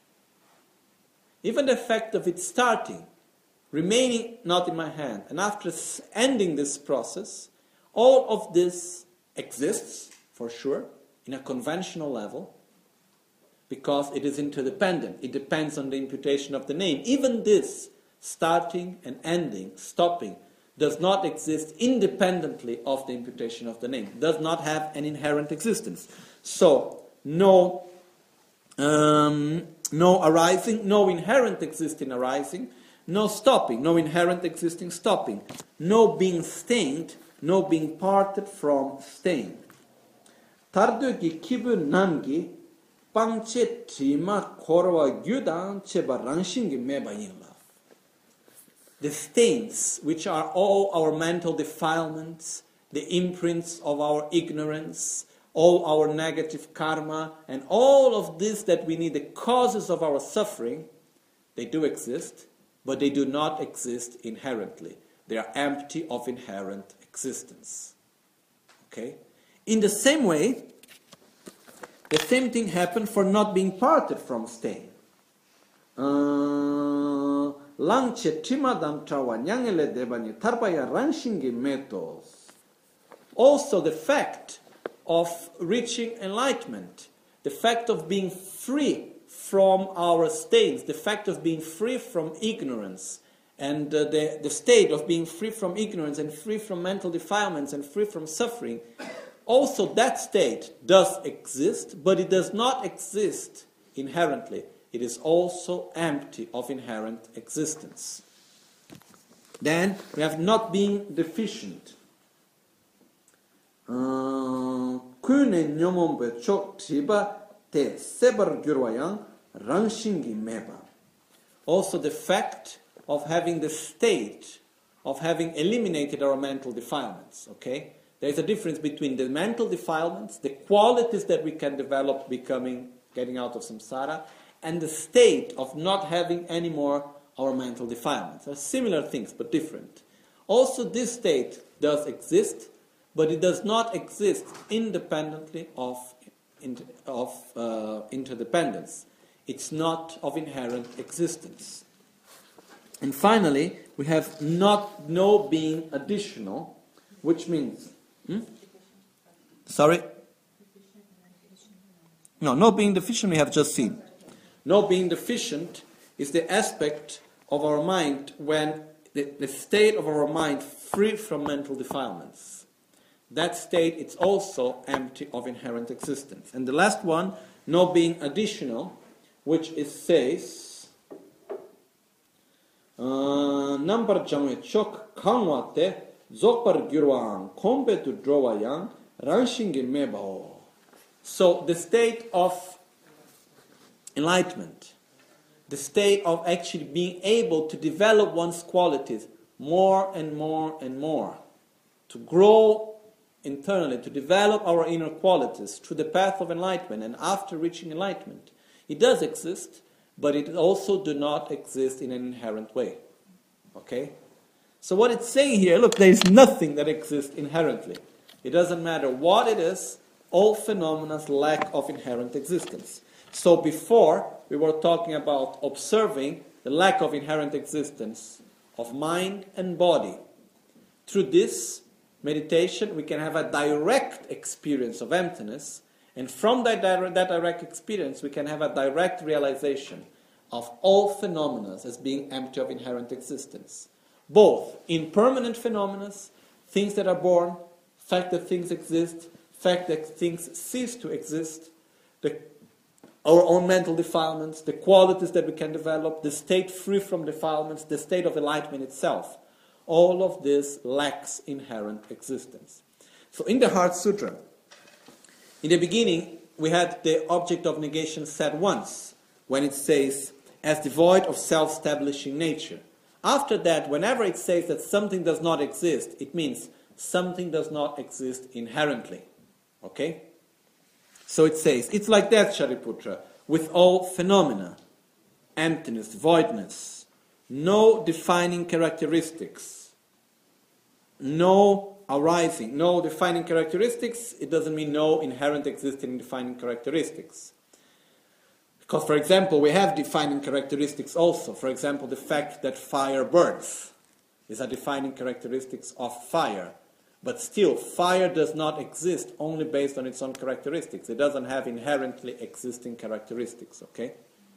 Even the fact of it starting, remaining not in my hand, and after ending this process, all of this exists, for sure, in a conventional level, because it is interdependent. It depends on the imputation of the name. Even this, starting and ending, stopping, does not exist independently of the imputation of the name. Does not have an inherent existence. So, no, um, no arising, no inherent existing arising, no stopping, no inherent existing stopping, no being stained, no being parted from stain. Tardugi kibu namgi pangche trima korwa gyudan cheba rangshingi meba yinla. The stains, which are all our mental defilements, the imprints of our ignorance, all our negative karma, and all of this that we need, the causes of our suffering, they do exist, but they do not exist inherently. They are empty of inherent existence. Okay? In the same way, the same thing happened for not being parted from stain. Uh, also, the fact of reaching enlightenment, the fact of being free from our states, the fact of being free from ignorance, and uh, the, the state of being free from ignorance and free from mental defilements and free from suffering, also that state does exist, but it does not exist inherently. It is also empty of inherent existence. Then we have not being deficient. Kune nyomombe chok tiba te sebar gyurwayang rangshingi meba. Also the fact of having the state of having eliminated our mental defilements. Okay? There is a difference between the mental defilements, the qualities that we can develop becoming, getting out of samsara, and the state of not having any more our mental defilements. They're similar things, but different. Also, this state does exist, but it does not exist independently of, of uh, interdependence. It's not of inherent existence. And finally, we have not no being additional, which means... Hmm? Sorry? No, no being deficient we have just seen. No being deficient is the aspect of our mind when the, the state of our mind free from mental defilements. That state is also empty of inherent existence. And the last one, no being additional, which it says, number jamwe chok kangwate zokpar gyurwang kombe tu drowayang ranshingi mebao. So the state of enlightenment, the state of actually being able to develop one's qualities more and more and more, to grow internally, to develop our inner qualities through the path of enlightenment, and after reaching enlightenment, it does exist, but it also do not exist in an inherent way. Okay? So what it's saying here, look, there is nothing that exists inherently. It doesn't matter what it is, all phenomena lack of inherent existence. So before, we were talking about observing the lack of inherent existence of mind and body. Through this meditation, we can have a direct experience of emptiness, and from that direct, that direct experience, we can have a direct realization of all phenomena as being empty of inherent existence. Both impermanent phenomena, things that are born, fact that things exist, fact that things cease to exist, the our own mental defilements, the qualities that we can develop, the state free from defilements, the state of enlightenment itself. All of this lacks inherent existence. So in the Heart Sutra, in the beginning, we had the object of negation said once, when it says, as devoid of self-establishing nature. After that, whenever it says that something does not exist, it means something does not exist inherently. Okay? So it says, it's like that, Shariputra, with all phenomena, emptiness, voidness, no defining characteristics, no arising, no defining characteristics, it doesn't mean no inherent existing defining characteristics. Because, for example, we have defining characteristics also. For example, the fact that fire burns is a defining characteristics of fire. But still, fire does not exist only based on its own characteristics. It doesn't have inherently existing characteristics, okay?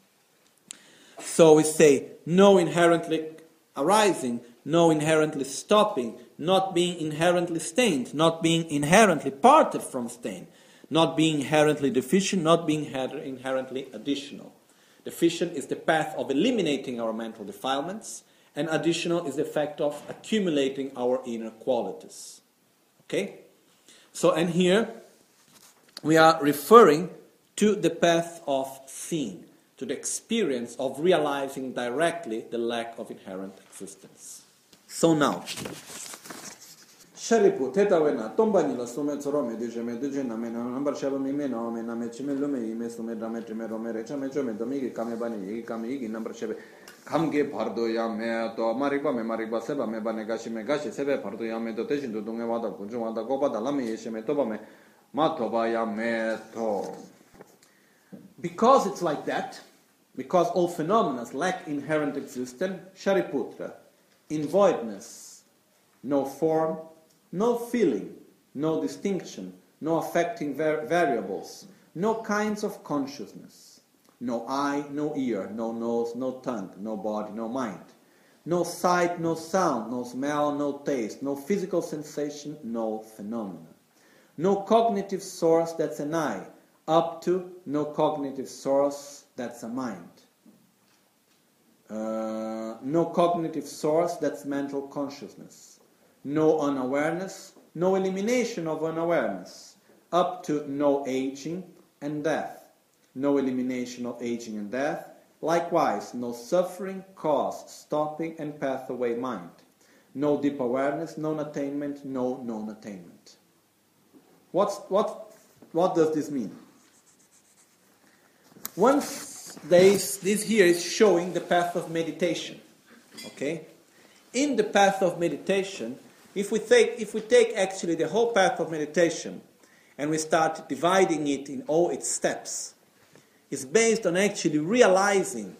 So we say, no inherently arising, no inherently stopping, not being inherently stained, not being inherently parted from stain, not being inherently deficient, not being inherently additional. Deficient is the path of eliminating our mental defilements, and additional is the fact of accumulating our inner qualities. Okay? So, and here we are referring to the path of seeing, to the experience of realizing directly the lack of inherent existence. So now, Sharipu, tetawena, tombani la sume zorome, dijeme, dijena, mena, number shabami meno, mena, mechime lume, ime sume drame, trime romere, chame, jome, domigi, kame bani, kame igi, number shabe. Kamge pardo ya me to mariba me mariba seba me bane gashi me gashi sebe pardo ya me to teshin to dunge wada kunju wada goba da lame yeshe me to ba me ma to ba ya me to. Because it's like that, because all phenomena lack inherent existence, Shariputra, in voidness, no form, no feeling, no distinction, no affecting var- variables, no kinds of consciousness, no eye, no ear, no nose, no tongue, no body, no mind. No sight, no sound, no smell, no taste, no physical sensation, no phenomena. No cognitive source, that's an I, up to no cognitive source, that's a mind. Uh, no cognitive source, that's mental consciousness. No unawareness, no elimination of unawareness, up to no aging and death. No elimination of aging and death. Likewise, no suffering, cause, stopping, and pathway mind. No deep awareness, non-attainment, no non-attainment. What's, what, what does this mean? Once there is, this here is showing the path of meditation. Okay? In the path of meditation, if we take, if we take actually the whole path of meditation and we start dividing it in all its steps, it's based on actually realizing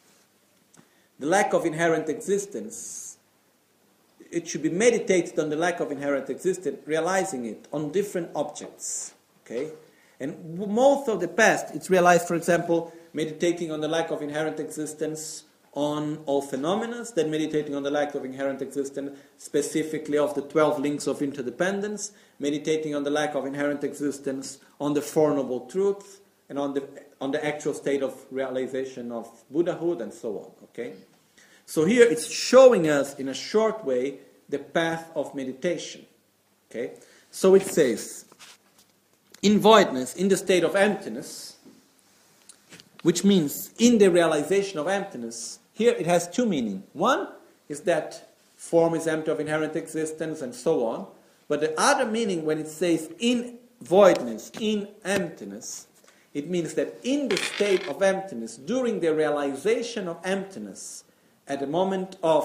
the lack of inherent existence. It should be meditated on the lack of inherent existence, realizing it on different objects. Okay? And most of the past, it's realized, for example, meditating on the lack of inherent existence on all phenomena, then meditating on the lack of inherent existence specifically of the twelve links of interdependence, meditating on the lack of inherent existence on the Four Noble Truths, and on the on the actual state of realization of Buddhahood, and so on. Okay? So here it's showing us in a short way the path of meditation. Okay? So it says, in voidness, in the state of emptiness, which means in the realization of emptiness, here it has two meanings. One is that form is empty of inherent existence and so on. But the other meaning when it says in voidness, in emptiness, it means that in the state of emptiness, during the realization of emptiness, at the moment of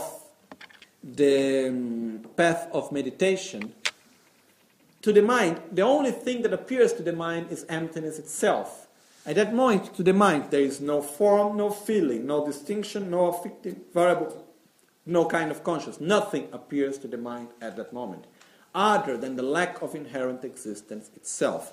the um, path of meditation, to the mind, the only thing that appears to the mind is emptiness itself. At that moment, to the mind, there is no form, no feeling, no distinction, no affective variable, no kind of consciousness. Nothing appears to the mind at that moment, other than the lack of inherent existence itself.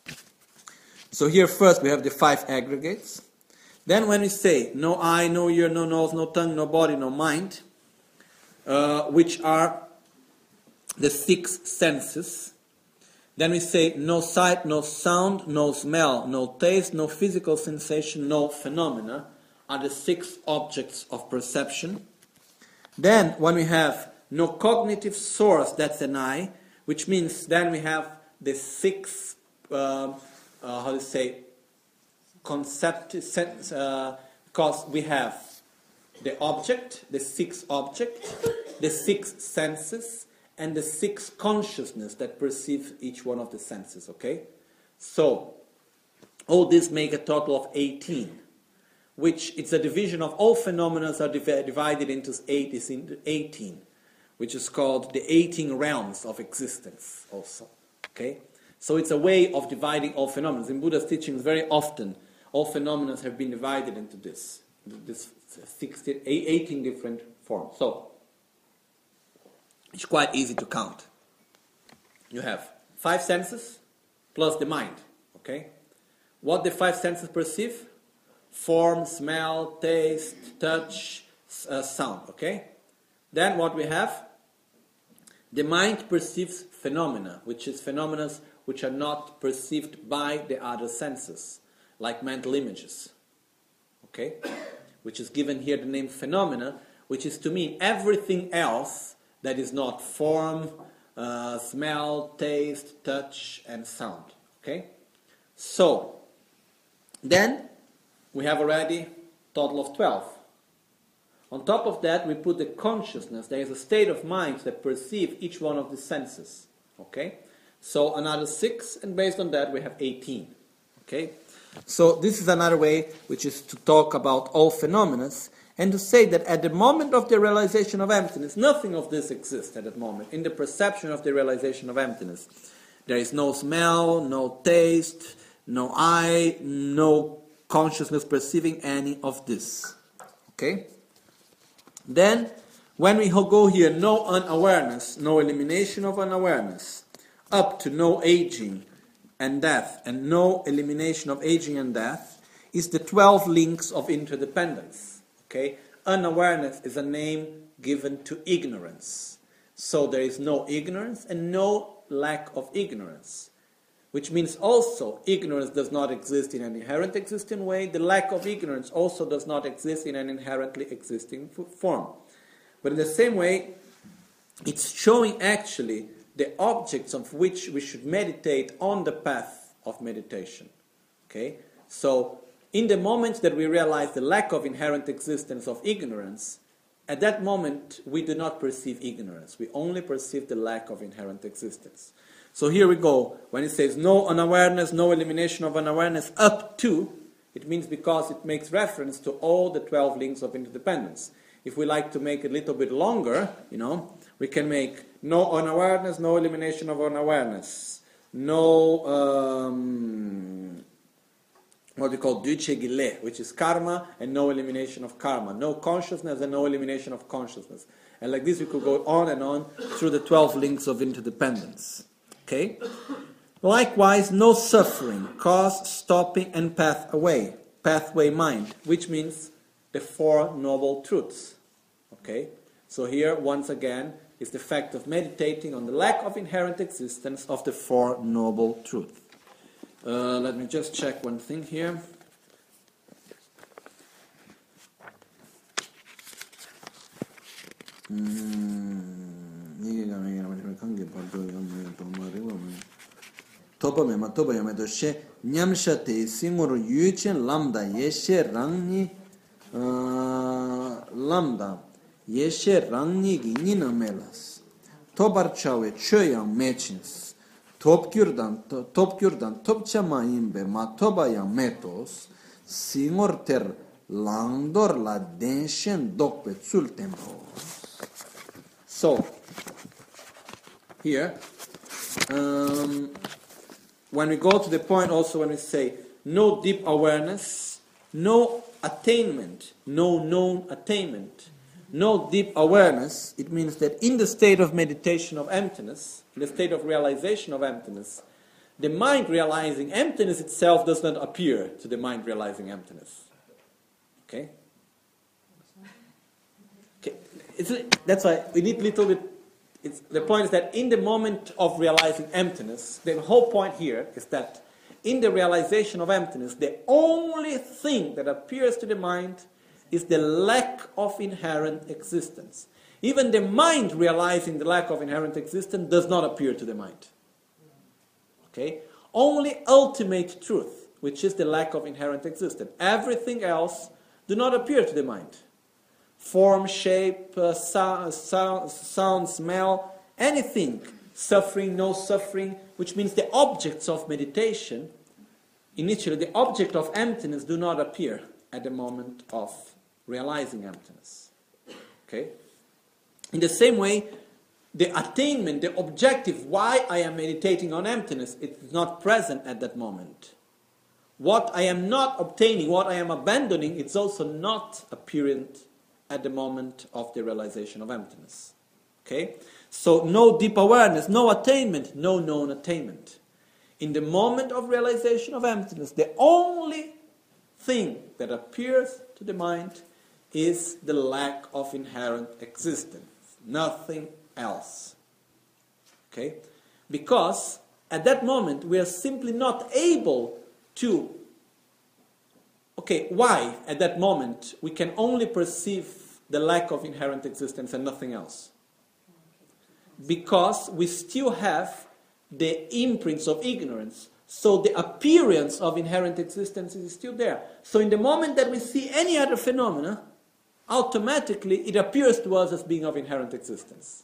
So here first we have the five aggregates. Then when we say no eye, no ear, no nose, no tongue, no body, no mind, uh, which are the six senses. Then we say no sight, no sound, no smell, no taste, no physical sensation, no phenomena are the six objects of perception. Then when we have no cognitive source, that's an I, which means then we have the six, uh, uh, how to say, concept, uh, because we have the object, the six objects, the six senses, and the six consciousness that perceive each one of the senses, okay? So, all this make a total of eighteen, which it's a division of all phenomena are div- divided into eight, is into eighteen, which is called the eighteen realms of existence also, okay? So it's a way of dividing all phenomena. In Buddha's teachings, very often, all phenomena have been divided into this, this sixteen, eighteen different forms. So, it's quite easy to count. You have five senses plus the mind, okay? What the five senses perceive? Form, smell, taste, touch, uh, sound, okay? Then what we have? The mind perceives phenomena, which is phenomena which are not perceived by the other senses, like mental images, okay? Which is given here the name phenomena, which is to mean everything else that is not form, uh, smell, taste, touch, and sound. Okay? So, then we have already a total of twelve. On top of that, we put the consciousness. There is a state of mind that perceives each one of the senses. Okay? So, another six, and based on that, we have eighteen. Okay? So, this is another way, which is to talk about all phenomena, and to say that at the moment of the realization of emptiness, nothing of this exists at that moment. In the perception of the realization of emptiness, there is no smell, no taste, no eye, no consciousness perceiving any of this. Okay? Then, when we go here, no unawareness, no elimination of unawareness, up to no aging and death, and no elimination of aging and death, is the twelve links of interdependence. Okay? Unawareness is a name given to ignorance. So there is no ignorance and no lack of ignorance. Which means also ignorance does not exist in an inherent existing way. The lack of ignorance also does not exist in an inherently existing f- form. But in the same way, it's showing actually the objects of which we should meditate on the path of meditation. Okay? So, in the moment that we realize the lack of inherent existence of ignorance, at that moment we do not perceive ignorance. We only perceive the lack of inherent existence. So here we go. When it says no unawareness, no elimination of unawareness up to, it means because it makes reference to all the twelve links of interdependence. If we like to make it a little bit longer, you know, we can make no unawareness, no elimination of unawareness, no, um, what we call duce gile, which is karma, and no elimination of karma, no consciousness and no elimination of consciousness. And like this we could go on and on through the twelve links of interdependence. Okay? Likewise, no suffering, cause, stopping, and pathway, pathway mind, which means the Four Noble Truths. Okay? So here, once again, is the fact of meditating on the lack of inherent existence of the Four Noble Truths. Uh, let me just check one thing here. Topa me ma topa yame to she nyamsha te singor yuchen lambda yeshe rangni lambda yeshe rangni gi nina melas tobar chawe choyang mechins topkyurdan topkyurdan topchama imbe ma toba yang metos singor ter langdor la denshen dokpe tsul tempo. So, here, um, when we go to the point also when we say no deep awareness, no attainment, no known attainment, no deep awareness, it means that in the state of meditation of emptiness, in the state of realization of emptiness, the mind realizing emptiness itself does not appear to the mind realizing emptiness. Okay? Okay. It's, that's why we need a little bit. It's, the point is that in the moment of realizing emptiness, the whole point here is that in the realization of emptiness, the only thing that appears to the mind is the lack of inherent existence. Even the mind realizing the lack of inherent existence does not appear to the mind. Okay? Only ultimate truth, which is the lack of inherent existence. Everything else do not appear to the mind. Form, shape, uh, sound, sound, sound, smell, anything, suffering, no suffering, which means the objects of meditation, initially the object of emptiness do not appear at the moment of realizing emptiness. Okay? In the same way, the attainment, the objective, why I am meditating on emptiness, it is not present at that moment. What I am not obtaining, what I am abandoning, it's also not apparent at the moment of the realization of emptiness. Okay? So no deep awareness, no attainment, no known attainment. In the moment of realization of emptiness, the only thing that appears to the mind is the lack of inherent existence. Nothing else. Okay? Because at that moment we are simply not able to. Okay, why at that moment we can only perceive the lack of inherent existence and nothing else? Because we still have the imprints of ignorance. So the appearance of inherent existence is still there. So in the moment that we see any other phenomena, automatically it appears to us as being of inherent existence.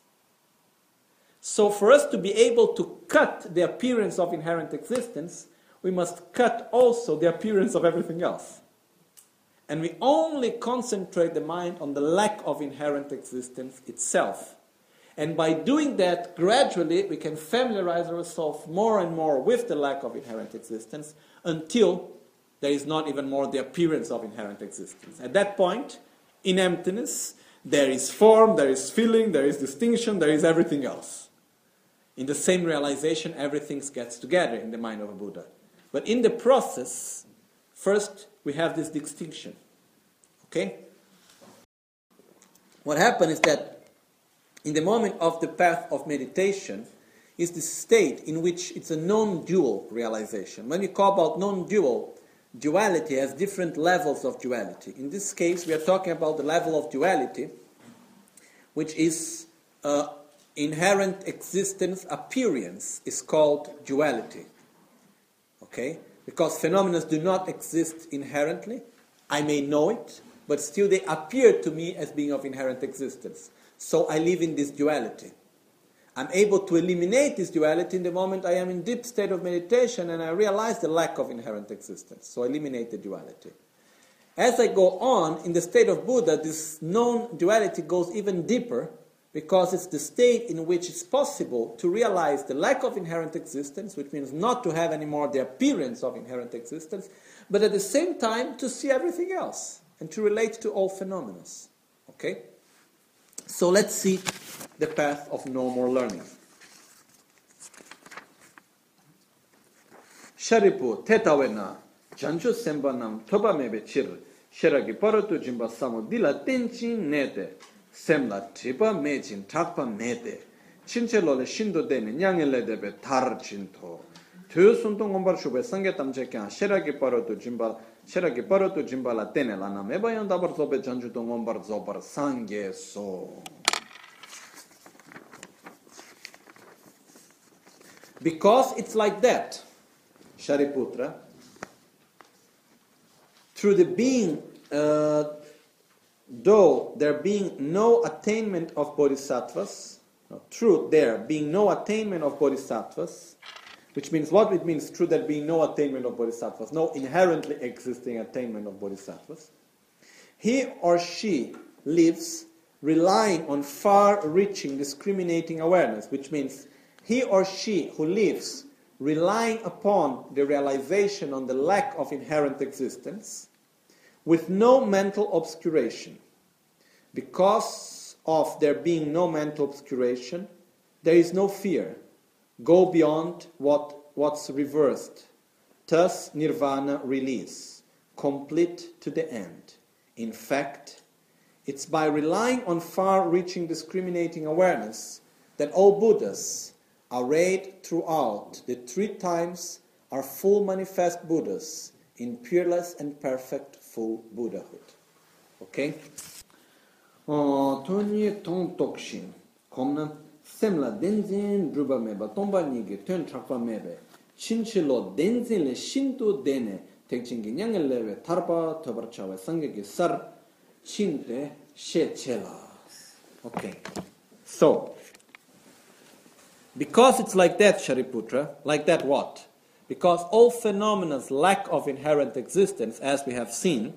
So for us to be able to cut the appearance of inherent existence, we must cut also the appearance of everything else. And we only concentrate the mind on the lack of inherent existence itself. And by doing that, gradually we can familiarize ourselves more and more with the lack of inherent existence until there is not even more the appearance of inherent existence. At that point, in emptiness, there is form, there is feeling, there is distinction, there is everything else. In the same realization, everything gets together in the mind of a Buddha. But in the process, first we have this distinction. Okay? What happens is that in the moment of the path of meditation is the state in which it's a non-dual realization. When we talk about non-dual, duality has different levels of duality. In this case, we are talking about the level of duality, which is uh, inherent existence appearance is called duality. Okay? Because phenomena do not exist inherently. I may know it, but still they appear to me as being of inherent existence. So I live in this duality. I'm able to eliminate this duality in the moment I am in deep state of meditation and I realize the lack of inherent existence. So I eliminate the duality. As I go on, in the state of Buddha, this non-duality goes even deeper because it's the state in which it's possible to realize the lack of inherent existence, which means not to have anymore the appearance of inherent existence, but at the same time to see everything else and to relate to all phenomena. Okay? So let's see the path of no more learning. Sharipu tetawena janju sembanam toba mebe chir sheragi paratu jimba samu dila tenchin nete semla tripa mejin takpa mede chincelole shindo dene nyangele debe tar chinto tu suntung ombar shube sange tamche kya sheragi paratu jimba sheragi paratu jimba la tene lana mebayan dabar zobe janju tong ombar zobar sange so. Because it's like that, Shariputra, through the being, uh, though there being no attainment of bodhisattvas, no, through there being no attainment of bodhisattvas, which means what it means through there being no attainment of bodhisattvas, no inherently existing attainment of bodhisattvas, he or she lives relying on far-reaching discriminating awareness, which means he or she who lives relying upon the realization on the lack of inherent existence with no mental obscuration. Because of there being no mental obscuration, there is no fear. Go beyond what, what's reversed. Thus, nirvana, release, complete to the end. In fact, it's by relying on far-reaching discriminating awareness that all Buddhas arrayed throughout the three times are full manifest Buddhas in peerless and perfect full Buddhahood. Okay? Tony Tong Tokshin. Komna Semla Denzin Druba Meba Tomba Nige Tön Trakpa Mebe Chinchilo Denzin Le Shinto Dene Tekchingi Nyangelewe Tarpa Tobarchawe Sangegi Sar Chinte Shechela. Okay. So, because it's like that, Shariputra, like that what? Because all phenomena's lack of inherent existence, as we have seen,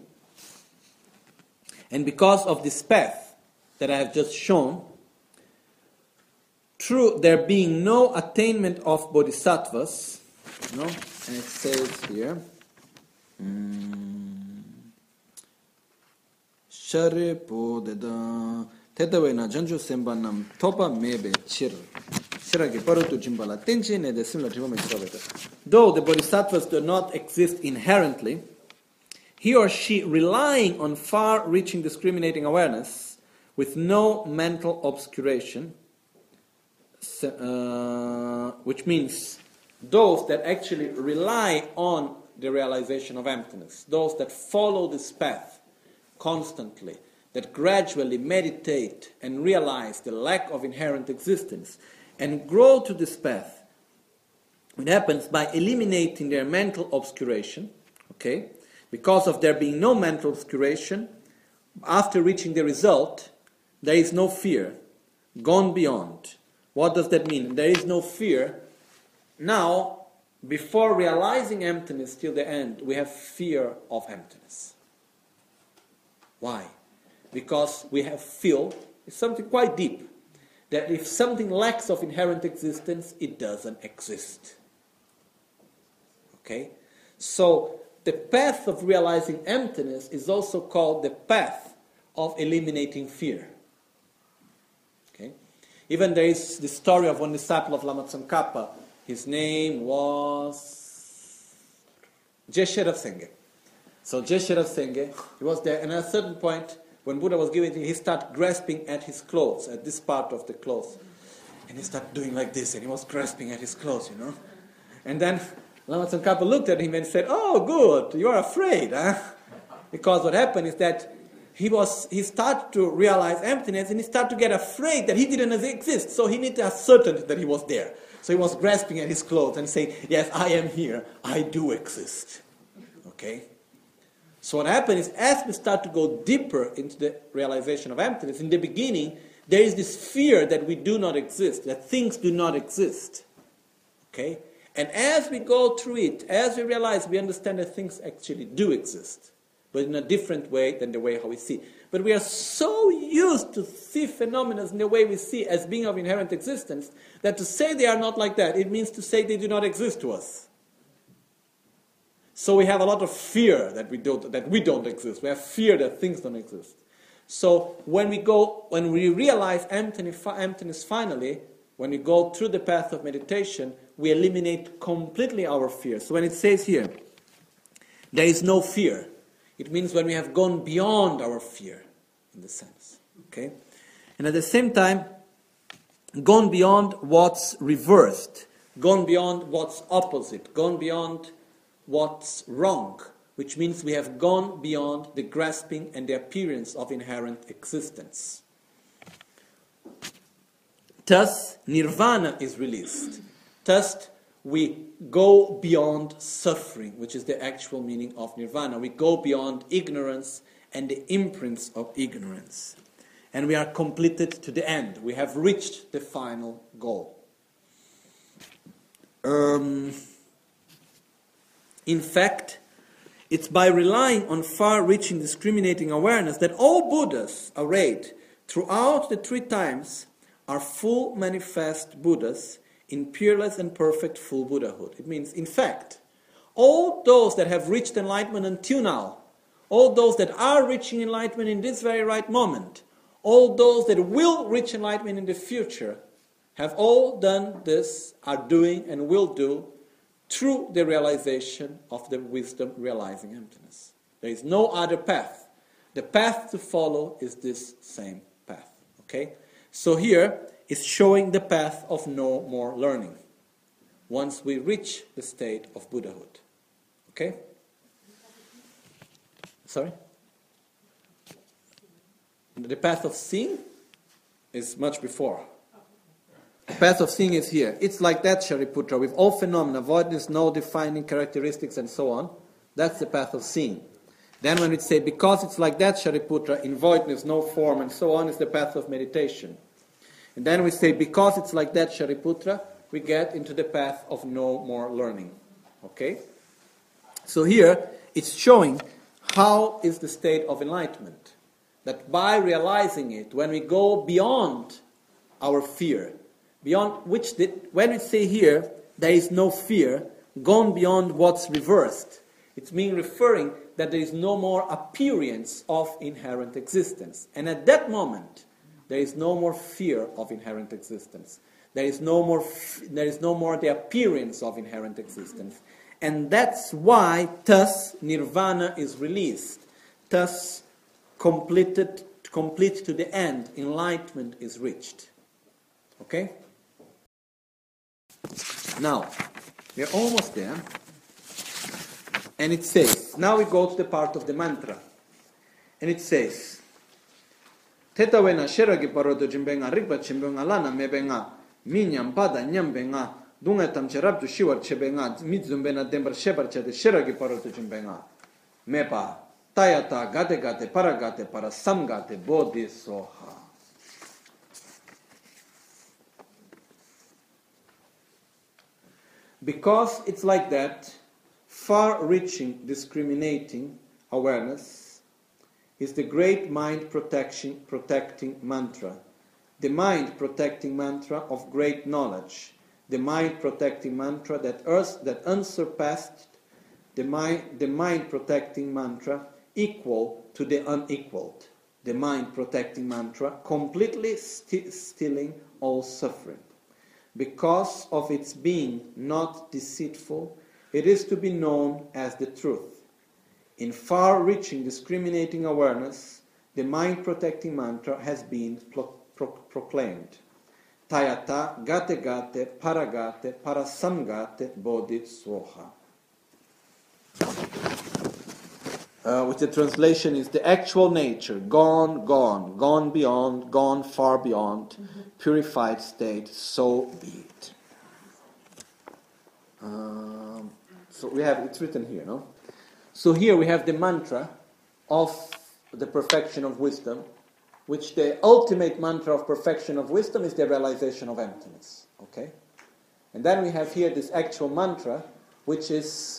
and because of this path that I have just shown, through there being no attainment of bodhisattvas, you know, and it says here, Shariputra, Tetawena Janju Sembanam Topa Mebe Chir. Though the bodhisattvas do not exist inherently, he or she relying on far-reaching discriminating awareness with no mental obscuration, uh, which means those that actually rely on the realization of emptiness, those that follow this path constantly, that gradually meditate and realize the lack of inherent existence, and grow to this path. It happens by eliminating their mental obscuration, okay? Because of there being no mental obscuration, after reaching the result, there is no fear, gone beyond. What does that mean? There is no fear. Now, before realizing emptiness till the end, we have fear of emptiness. Why? Because we have feel, it's something quite deep, that if something lacks of inherent existence, it doesn't exist. Okay? So, the path of realizing emptiness is also called the path of eliminating fear. Okay? Even there is the story of one disciple of Lama Tsongkhapa. His name was Geshe Ravsengye. So Jeshira Senge, he was there, and at a certain point, when Buddha was giving it, he started grasping at his clothes, at this part of the clothes. And he started doing like this, and he was grasping at his clothes, you know. And then Lama Tsongkhapa looked at him and said, "Oh, good, you are afraid, huh?" Because what happened is that he was he started to realize emptiness, and he started to get afraid that he didn't exist. So he needed to ascertain that he was there. So he was grasping at his clothes and saying, "Yes, I am here. I do exist." Okay? So what happened is, as we start to go deeper into the realization of emptiness, in the beginning, there is this fear that we do not exist, that things do not exist. Okay? And as we go through it, as we realize, we understand that things actually do exist, but in a different way than the way how we see. But we are so used to see phenomena in the way we see as being of inherent existence, that to say they are not like that, it means to say they do not exist to us. So we have a lot of fear that we don't that we don't exist. We have fear that things don't exist. So when we go, when we realize emptiness, emptiness finally, when we go through the path of meditation, we eliminate completely our fear. So when it says here, there is no fear, it means when we have gone beyond our fear, in the sense. Okay? And at the same time, gone beyond what's reversed, gone beyond what's opposite, gone beyond what's wrong, which means we have gone beyond the grasping and the appearance of inherent existence. Thus, nirvana is released. Thus, we go beyond suffering, which is the actual meaning of nirvana. We go beyond ignorance and the imprints of ignorance. And we are completed to the end. We have reached the final goal. Um... In fact, it's by relying on far-reaching discriminating awareness that all Buddhas arrayed throughout the three times are full manifest Buddhas in peerless and perfect full Buddhahood. It means, in fact, all those that have reached enlightenment until now, all those that are reaching enlightenment in this very right moment, all those that will reach enlightenment in the future, have all done this, are doing and will do through the realization of the wisdom realizing emptiness. There is no other path. The path to follow is this same path. Okay? So here is showing the path of no more learning once we reach the state of Buddhahood. Okay? Sorry? The path of seeing is much before. The path of seeing is here. It's like that, Shariputra, with all phenomena, voidness, no defining characteristics, and so on. That's the path of seeing. Then when we say, because it's like that, Shariputra, in voidness, no form, and so on, is the path of meditation. And then we say, because it's like that, Shariputra, we get into the path of no more learning. Okay? So here, it's showing how is the state of enlightenment. That by realizing it, when we go beyond our fear, beyond which, the, when we say here, there is no fear, gone beyond what's reversed, it's mean referring that there is no more appearance of inherent existence. And at that moment, there is no more fear of inherent existence. There is no more, f- there is no more the appearance of inherent existence. And that's why, thus, nirvana is released. Thus, completed, complete to the end, enlightenment is reached. Okay? Now, we're almost there. And it says, now we go to the part of the mantra. And it says, Teta wena sheragi parodo jimbenga rigba chimbenga lana mebenga minyam pada nyambenga dunga tamcherabdu shiwar chebenga mizumbena dembar shebar chede sheragi parodo jimbenga mepa tayata gate gate paragate para samgate bodhi soha. Because it's like that, far-reaching, discriminating awareness is the great mind protection, protecting mantra, the mind protecting mantra of great knowledge, the mind protecting mantra that earth, that unsurpassed, the mind, the mind protecting mantra equal to the unequaled, the mind protecting mantra completely sti- stilling all suffering. Because of its being not deceitful, it is to be known as the truth. In far-reaching, discriminating awareness, the mind-protecting mantra has been pro- pro- proclaimed. Tayata gate gate paragate parasamgate bodhi soha. Uh, which the translation is the actual nature, gone, gone, gone beyond, gone far beyond, mm-hmm. purified state, so be it. Um, so we have, it's written here, no? So here we have the mantra of the perfection of wisdom, which the ultimate mantra of perfection of wisdom is the realization of emptiness, okay? And then we have here this actual mantra, which is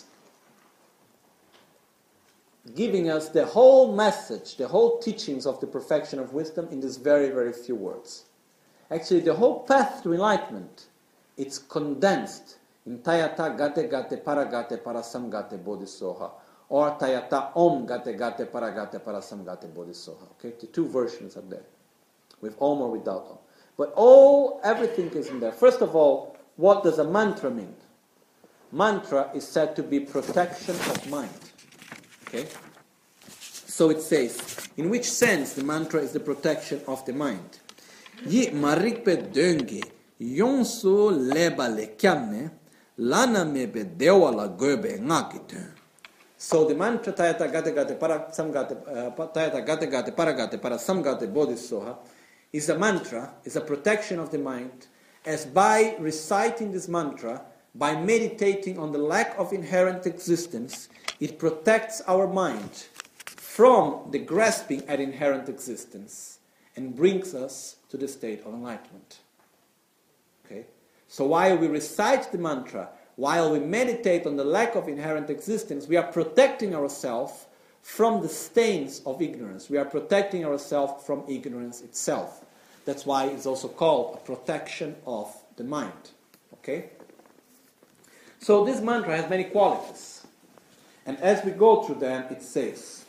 giving us the whole message, the whole teachings of the perfection of wisdom in these very, very few words. Actually, the whole path to enlightenment, it's condensed in Tayata gate gate paragate parasamgate bodhisoha, or Tayata om gate gate paragate parasamgate bodhisoha. Okay, the two versions are there, with om or without om. But all, everything is in there. First of all, what does a mantra mean? Mantra is said to be protection of mind. Okay? So it says, in which sense the mantra is the protection of the mind? Yi marikpe dönge yonso leba le kyamne lana mebe dewa la gobe ngakite. So the mantra Tayata gate gate para samgate Tayata gate gate paragate para samgate bodhisoha is a mantra, is a protection of the mind, as by reciting this mantra, by meditating on the lack of inherent existence, it protects our mind from the grasping at inherent existence and brings us to the state of enlightenment. Okay? So while we recite the mantra, while we meditate on the lack of inherent existence, we are protecting ourselves from the stains of ignorance. We are protecting ourselves from ignorance itself. That's why it's also called a protection of the mind. Okay? So this mantra has many qualities. And as we go through them, it says,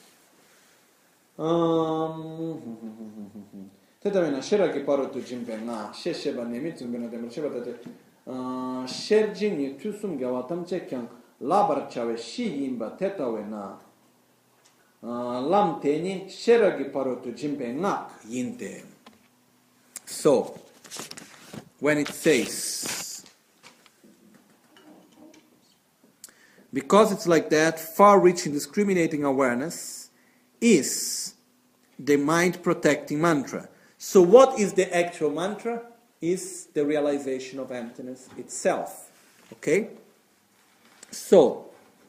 Tetavina shera che paro tu jimpena, shesheba nemitzum benadem sheba tate, sherjin ni tusum gawatam chekyang, labar chave shi yimba tetavina, lam teni shera che paro tu jimpena yinte. So, when it says, because it's like that, far-reaching, discriminating awareness is the mind-protecting mantra. So what is the actual mantra? Is the realization of emptiness itself. Okay? So,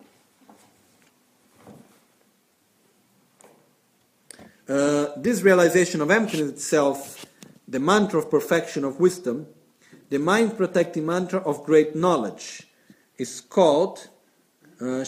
uh, this realization of emptiness itself, the mantra of perfection of wisdom, the mind-protecting mantra of great knowledge, is called So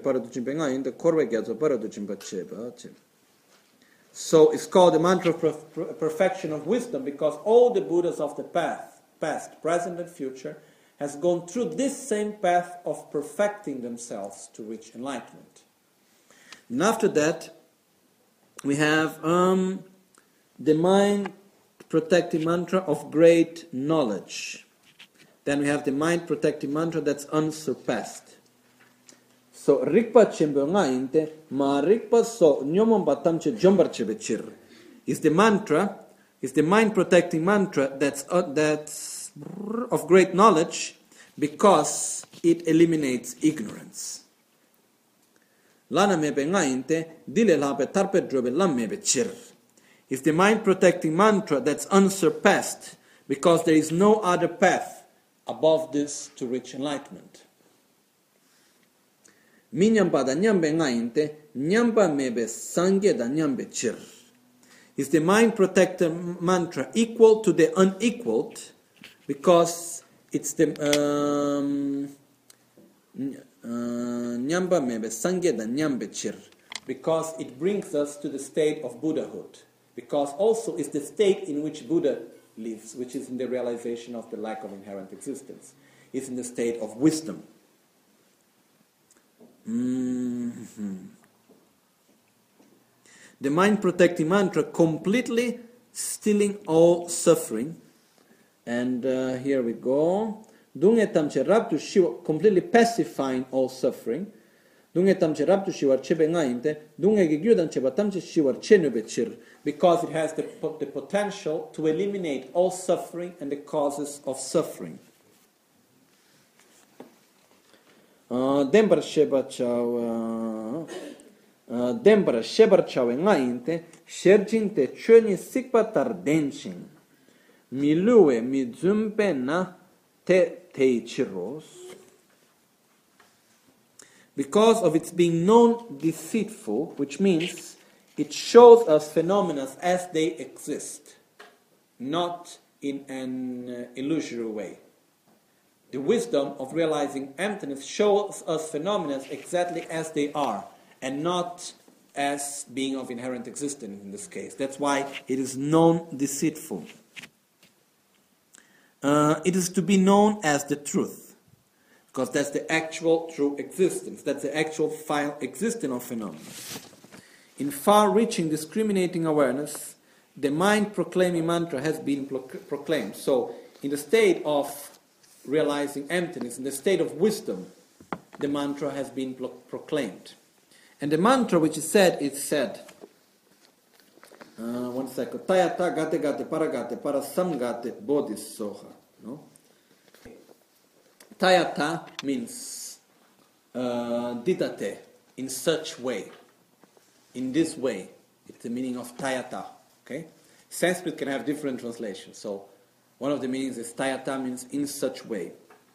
it's called the mantra of perfection of wisdom because all the Buddhas of the path, past, present and future, has gone through this same path of perfecting themselves to reach enlightenment. And after that, we have um, the mind protecting mantra of great knowledge. Then we have the mind protecting mantra that's unsurpassed. So rikpa chembe ngainte ma rikpa so nyomon batamche jombarche bechir is the mantra, is the mind protecting mantra that's uh, that's of great knowledge because it eliminates ignorance. Lana mebe ngainte dile lape tarpe drobe lamme bechir is the mind protecting mantra that's unsurpassed because there is no other path above this to reach enlightenment. Minyamba da nyambe ngainte, nyamba mebe sangye da nyambe chir. Is the mind protector mantra equal to the unequaled because it's the um, nyamba mebe sangye da nyambe chir because it brings us to the state of Buddhahood because also is the state in which Buddha lives, which is in the realization of the lack of inherent existence, is in the state of wisdom. Mm-hmm. The mind-protecting mantra completely stilling all suffering. And uh, here we go. Completely pacifying all suffering. Dunge tamche raptu shiwar chebe ngainte, dunge ge gyudan cheba tamche shiwar chenube chir, because it has the, the potential to eliminate all suffering and the causes of suffering. Uh, Dembra sheba chau, uh, Dembra shebar chau ngainte, sherjinte chöni sikpa tardenchin, milue mi zumpe na te teichiros. Because of its being known deceitful, which means it shows us phenomena as they exist, not in an uh, illusory way. The wisdom of realizing emptiness shows us phenomena exactly as they are, and not as being of inherent existence in this case. That's why it is known deceitful. Uh, it is to be known as the truth, because that's the actual true existence. That's the actual final existence of phenomena. In far-reaching discriminating awareness, the mind-proclaiming mantra has been pro- proclaimed. So, in the state of realizing emptiness, in the state of wisdom, the mantra has been pro- proclaimed. And the mantra which is said, is said, uh, one second, Tayata gate gate paragate parasamgate bodhisoha. No? Tayata means uh, didate, in such way, in this way. It's the meaning of tayata. Okay? Sanskrit can have different translations. So one of the meanings is tayata means in such way.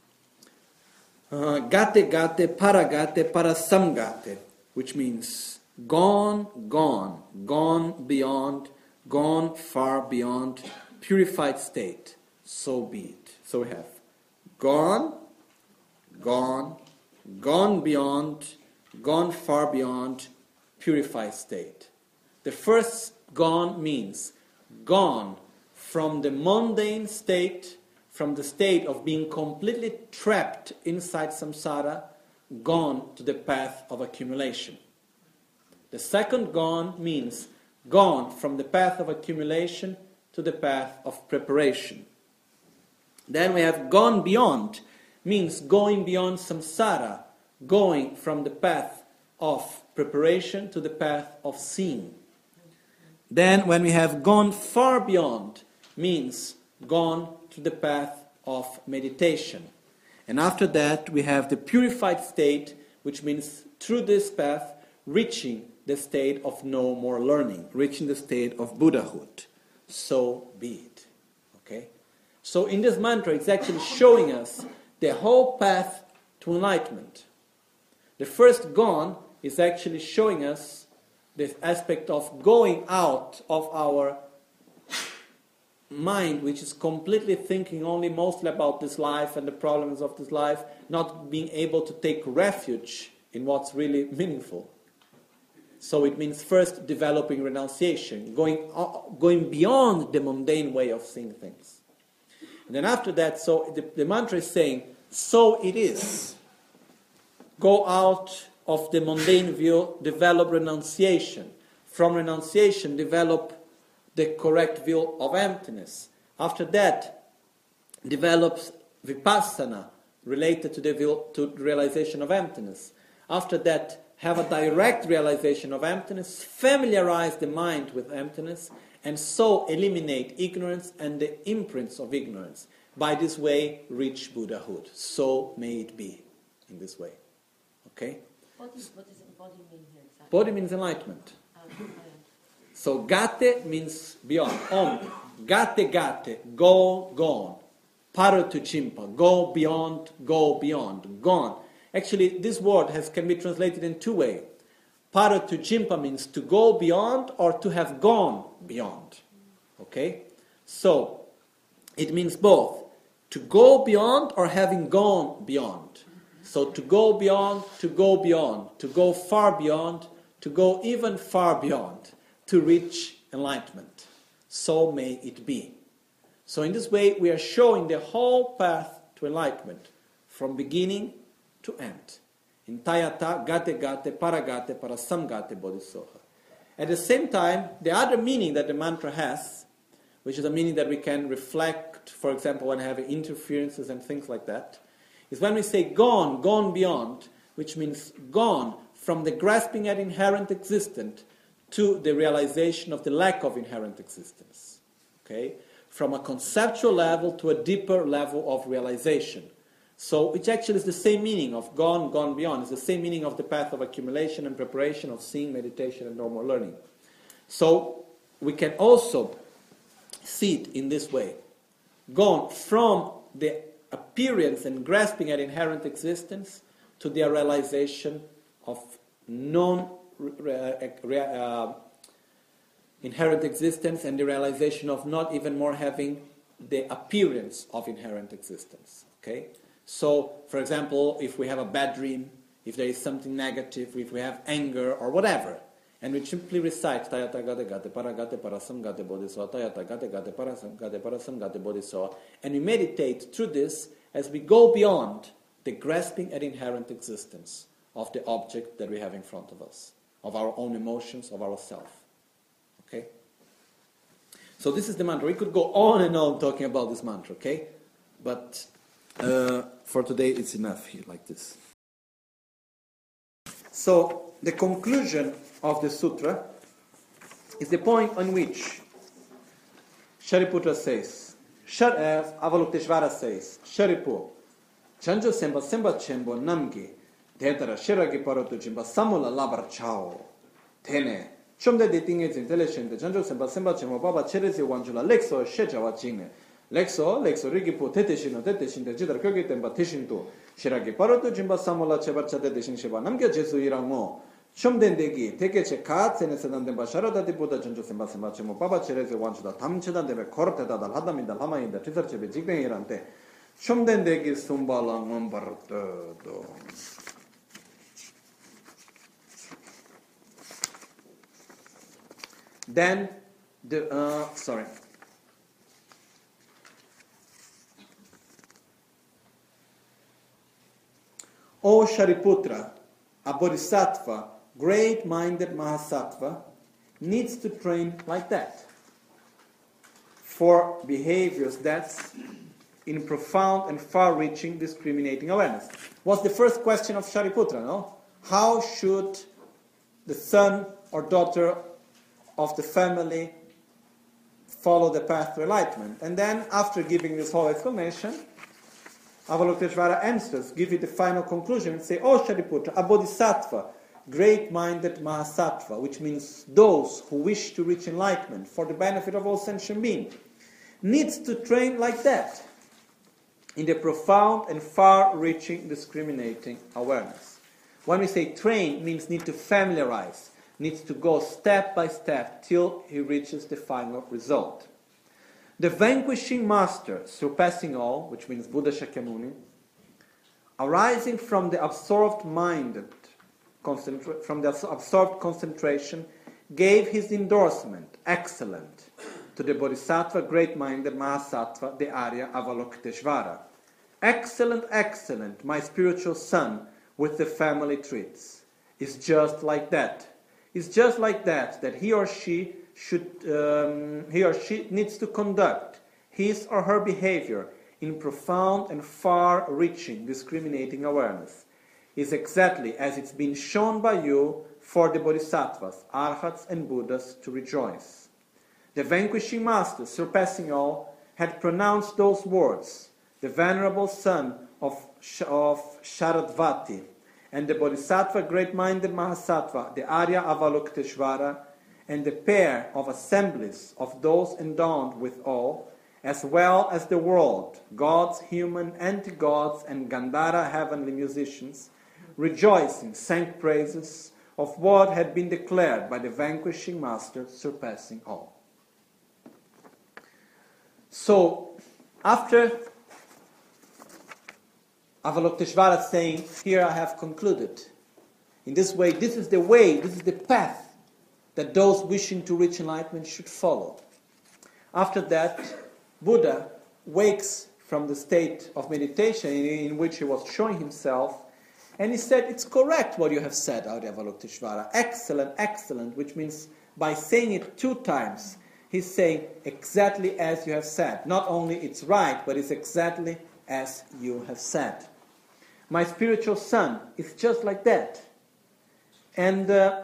Uh, gate gate paragate parasamgate, which means gone, gone, gone beyond, gone far beyond, purified state. So be it. So we have gone, gone, gone beyond, gone far beyond, purified state. The first gone means gone from the mundane state, from the state of being completely trapped inside samsara, gone to the path of accumulation. The second gone means gone from the path of accumulation to the path of preparation. Then we have gone beyond, means going beyond samsara, going from the path of preparation to the path of seeing. Then when we have gone far beyond, means gone to the path of meditation. And after that we have the purified state, which means through this path reaching the state of no more learning, reaching the state of Buddhahood. So be it. Okay? So in this mantra it's actually showing us the whole path to enlightenment. The first gone is actually showing us this aspect of going out of our mind, which is completely thinking only mostly about this life and the problems of this life, not being able to take refuge in what's really meaningful. So it means first developing renunciation, going, uh, going beyond the mundane way of seeing things. And then after that, so the, the mantra is saying, so it is. Go out of the mundane view, develop renunciation. From renunciation, develop the correct view of emptiness. After that, develop vipassana related to the view, to the realization of emptiness. After that, have a direct realization of emptiness, familiarize the mind with emptiness, and so eliminate ignorance and the imprints of ignorance. By this way, reach Buddhahood. So may it be in this way. Okay? What is, what does body mean here exactly? Body means enlightenment. Um, So gate means beyond. Om. Gate gate. Go, gone. Paro to chimpa. Go beyond, go beyond. Gone. Actually, this word has, can be translated in two ways. Paro to chimpa means to go beyond or to have gone beyond. Okay? So, it means both. To go beyond or having gone beyond. So to go beyond, to go beyond, to go far beyond, to go even far beyond, to reach enlightenment. So may it be. So in this way we are showing the whole path to enlightenment, from beginning to end. In Tayata, Gate Gate, Paragate, Parasamgate, Bodhisoha. At the same time, the other meaning that the mantra has, which is a meaning that we can reflect, for example, when having interferences and things like that, is when we say gone, gone beyond, which means gone from the grasping at inherent existence to the realization of the lack of inherent existence. Okay? From a conceptual level to a deeper level of realization. So it actually is the same meaning of gone, gone beyond. It's the same meaning of the path of accumulation and preparation of seeing, meditation, and normal learning. So we can also see it in this way. Gone from the appearance and grasping at inherent existence to the realization of non uh, inherent existence and the realization of not even more having the appearance of inherent existence. Okay? So, for example, if we have a bad dream, if there is something negative, if we have anger or whatever, and we simply recite Tayata Gate Gate Paragate Parasam Gate Bodhisattva, Tayata Gate Gate Parasam Gate Parasam Gate Bodhisattva, and we meditate through this as we go beyond the grasping at inherent existence of the object that we have in front of us, of our own emotions, of ourself. Okay? So this is the mantra. We could go on and on talking about this mantra, okay? But uh, for today it's enough here like this. So the conclusion of the sutra is the point on which Shariputra says, Shar, uh, Avalokiteshvara says, Sharipu, Chanjo Semba Semba Chembo Namgi, Tetara Shiragi Parotu Jimba Samula Labar Chao, Tene, Chomde de Tinge Intelligent, Chanjo Semba Semba Chembo Baba Cherezi Wanjula, Lexo, Shejawa Chine, Lexo, Lexo Rigipo, Teteshino, Teteshin, the Jidar Kogitem, Batishinto, Shiragi Parotu Jimba Samula Chebacha de Shiva, Namga Jesu Iramo, Chomdendegi, Tekeche Katz, and Sedan de Basharada de Buddha Chanjo Semba Semba Chemo, Baba Cherezi Wanjula, Tamcheda de Corte da Hadam in the Lama in the Tizar Chebe Jignirante, Chomdendegi Sumbala Mambardo. Then, the, uh, sorry. O Shariputra, a bodhisattva, great-minded Mahasattva, needs to train like that for behaviors that's in profound and far-reaching discriminating awareness. What's the first question of Shariputra, no? How should the son or daughter of the family follow the path to enlightenment? And then, after giving this whole explanation, Avalokiteshvara answers, give it the final conclusion, and say, Oh Shariputra, a bodhisattva, great-minded Mahasattva, which means those who wish to reach enlightenment for the benefit of all sentient beings, needs to train like that, in the profound and far-reaching discriminating awareness. When we say train, it means need to familiarize, needs to go step by step till he reaches the final result. The vanquishing master, surpassing all, which means Buddha Shakyamuni, arising from the absorbed minded, concentra- from the absorbed concentration, gave his endorsement, excellent, to the Bodhisattva, great-minded Mahasattva, the Arya Avalokiteshvara. Excellent, excellent, my spiritual son, with the family treats. It's just like that. It's just like that, that he or she should, um, he or she needs to conduct his or her behavior in profound and far-reaching discriminating awareness. Is exactly as it's been shown by you for the Bodhisattvas, Arhats and Buddhas to rejoice. The vanquishing master, surpassing all, had pronounced those words, the venerable son of, of Sharadvati, and the Bodhisattva great-minded Mahasattva, the Arya Avalokiteshvara, and the pair of assemblies of those endowed with awe, as well as the world, gods, human, anti-gods, and Gandhara heavenly musicians, rejoicing, sang praises of what had been declared by the vanquishing master, surpassing all. So, after Avalokiteshvara saying, here I have concluded. In this way, this is the way, this is the path that those wishing to reach enlightenment should follow. After that, Buddha wakes from the state of meditation in which he was showing himself, and he said, it's correct what you have said, Arya Avalokiteshvara. Excellent, excellent, which means by saying it two times, he's saying exactly as you have said. Not only it's right, but it's exactly as you have said. My spiritual son is just like that. And uh,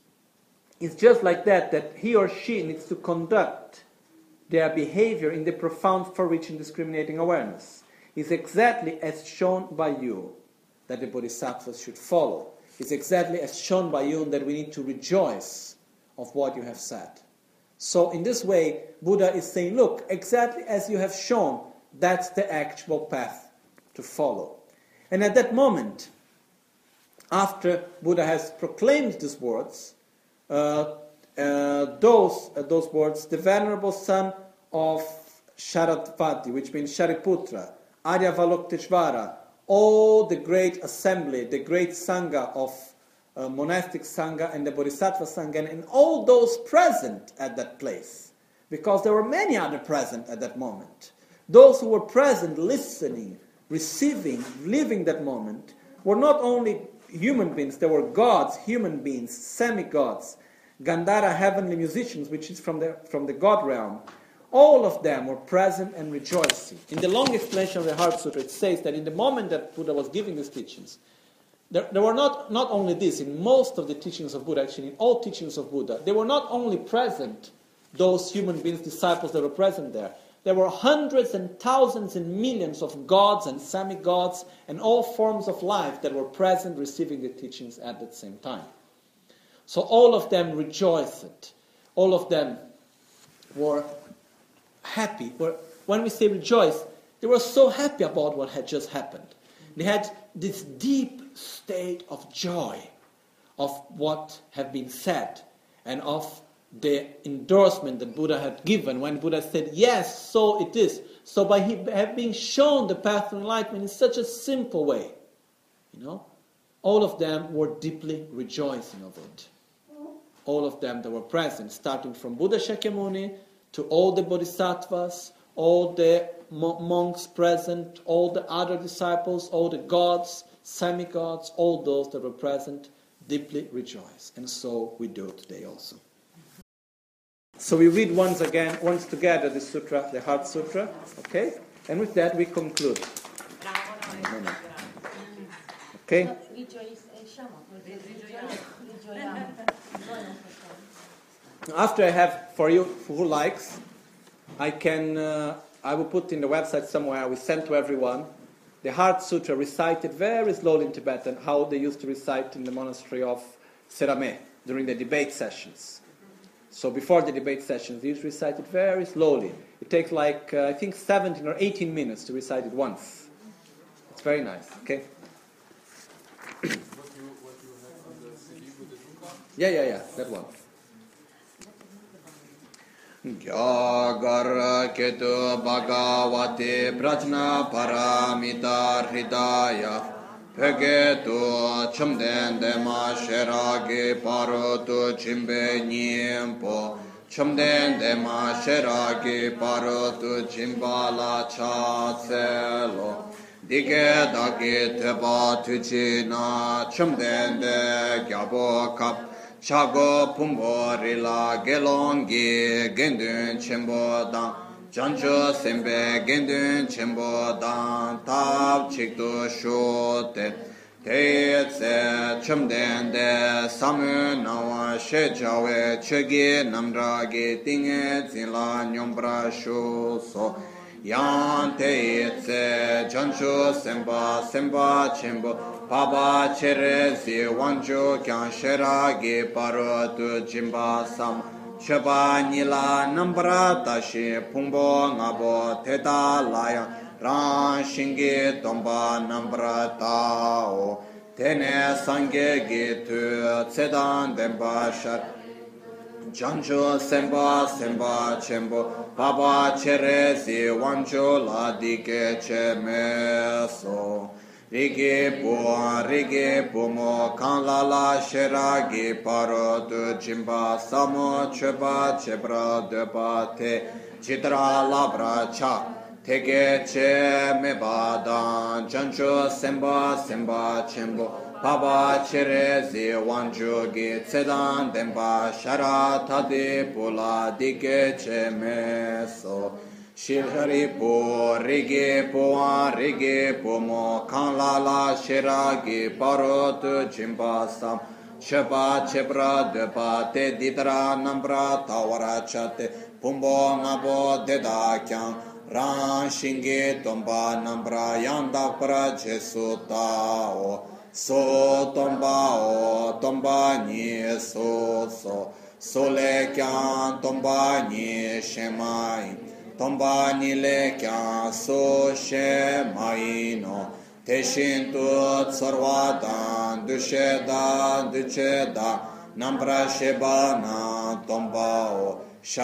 it's just like that, that he or she needs to conduct their behavior in the profound, far-reaching, discriminating awareness. It's exactly as shown by you that the bodhisattvas should follow. It's exactly as shown by you that we need to rejoice of what you have said. So in this way, Buddha is saying, look, exactly as you have shown, that's the actual path to follow. And at that moment, after Buddha has proclaimed these words, uh, uh, those, uh, those words, the venerable son of Sharadvati, which means Shariputra, Aryavalokiteshvara, all the great assembly, the great Sangha of uh, monastic Sangha and the Bodhisattva Sangha, and all those present at that place, because there were many other present at that moment. Those who were present, listening, receiving, living that moment, were not only human beings, they were gods, human beings, semi-gods, Gandhara, heavenly musicians, which is from the, from the God realm. All of them were present and rejoicing. In the long explanation of the Heart Sutra, it says that in the moment that Buddha was giving these teachings, there, there were not, not only this, in most of the teachings of Buddha, actually in all teachings of Buddha, they were not only present, those human beings, disciples that were present there, there were hundreds and thousands and millions of gods and semi-gods and all forms of life that were present receiving the teachings at the same time. So all of them rejoiced. All of them were happy. When we say rejoice, they were so happy about what had just happened. They had this deep state of joy of what had been said and of the endorsement that Buddha had given when Buddha said, yes, so it is. So by he having shown the path to enlightenment in such a simple way, you know, all of them were deeply rejoicing of it. All of them that were present, starting from Buddha Shakyamuni to all the bodhisattvas, all the mo- monks present, all the other disciples, all the gods, semi-gods, all those that were present, deeply rejoice. And so we do today also. So we read once again, once together, the sutra, the Heart Sutra, okay? And with that we conclude. Okay? After I have, for you who likes, I can, uh, I will put in the website somewhere, we send to everyone, the Heart Sutra recited very slowly in Tibetan, how they used to recite in the monastery of Serame during the debate sessions. So before the debate sessions, they used to recite it very slowly. It takes like, uh, I think, seventeen or eighteen minutes to recite it once. It's very nice, okay? What you, what you have on the C D with the Dukkha? Yeah, yeah, yeah, that one. Gyagar ketu bhagavate prajna paramita hridaya Pegetu chamden dema sherage parotu chimbe nyempo chamden dema sherage parotu chimbala chatselo Dige dagi teba tuchina chamden de gyabo kap Chago pumbo rila gelongi gendun chimbo dang Janjo sembe gendun chimbo dang tab chikdo shote Te tse chumden de samu nawa she jawe chegi namragi tinge zila nyombra shu so Yan te tse janjo semba semba chimbo Paba cherezi wanjo kyan sheragi parotu jimba sam Cheba nila nambra tashi pungbo ngabo teta laya Ran shingi tomba nambra tao Tene sange gitu tsedan demba shar Janjo semba semba chembo Paba cherezi wanjo la dike che meso Rigi po, rigi po mo, kan la la sheragi paro tu jimba samo cheba chebra deba te chitra labra cha tege che me badan jancho semba semba chembo paba cherezi wanjo gi tsedan demba shara tade pula dige che me so Shirhari po, rigi po, rigi po mo, kan la la shiragi parot jimba sam, Shepa chepra depa te didra nambra tawara chate pumbo ngabo deda kyang ran shingi tomba nambra yanda pra jesu tao so tomba o tomba ni so so so le kyang tomba ni shemai tomba ni le kyang so shemai no Teshin tu tsarvadan dushedan ducheda nambra shebana tombao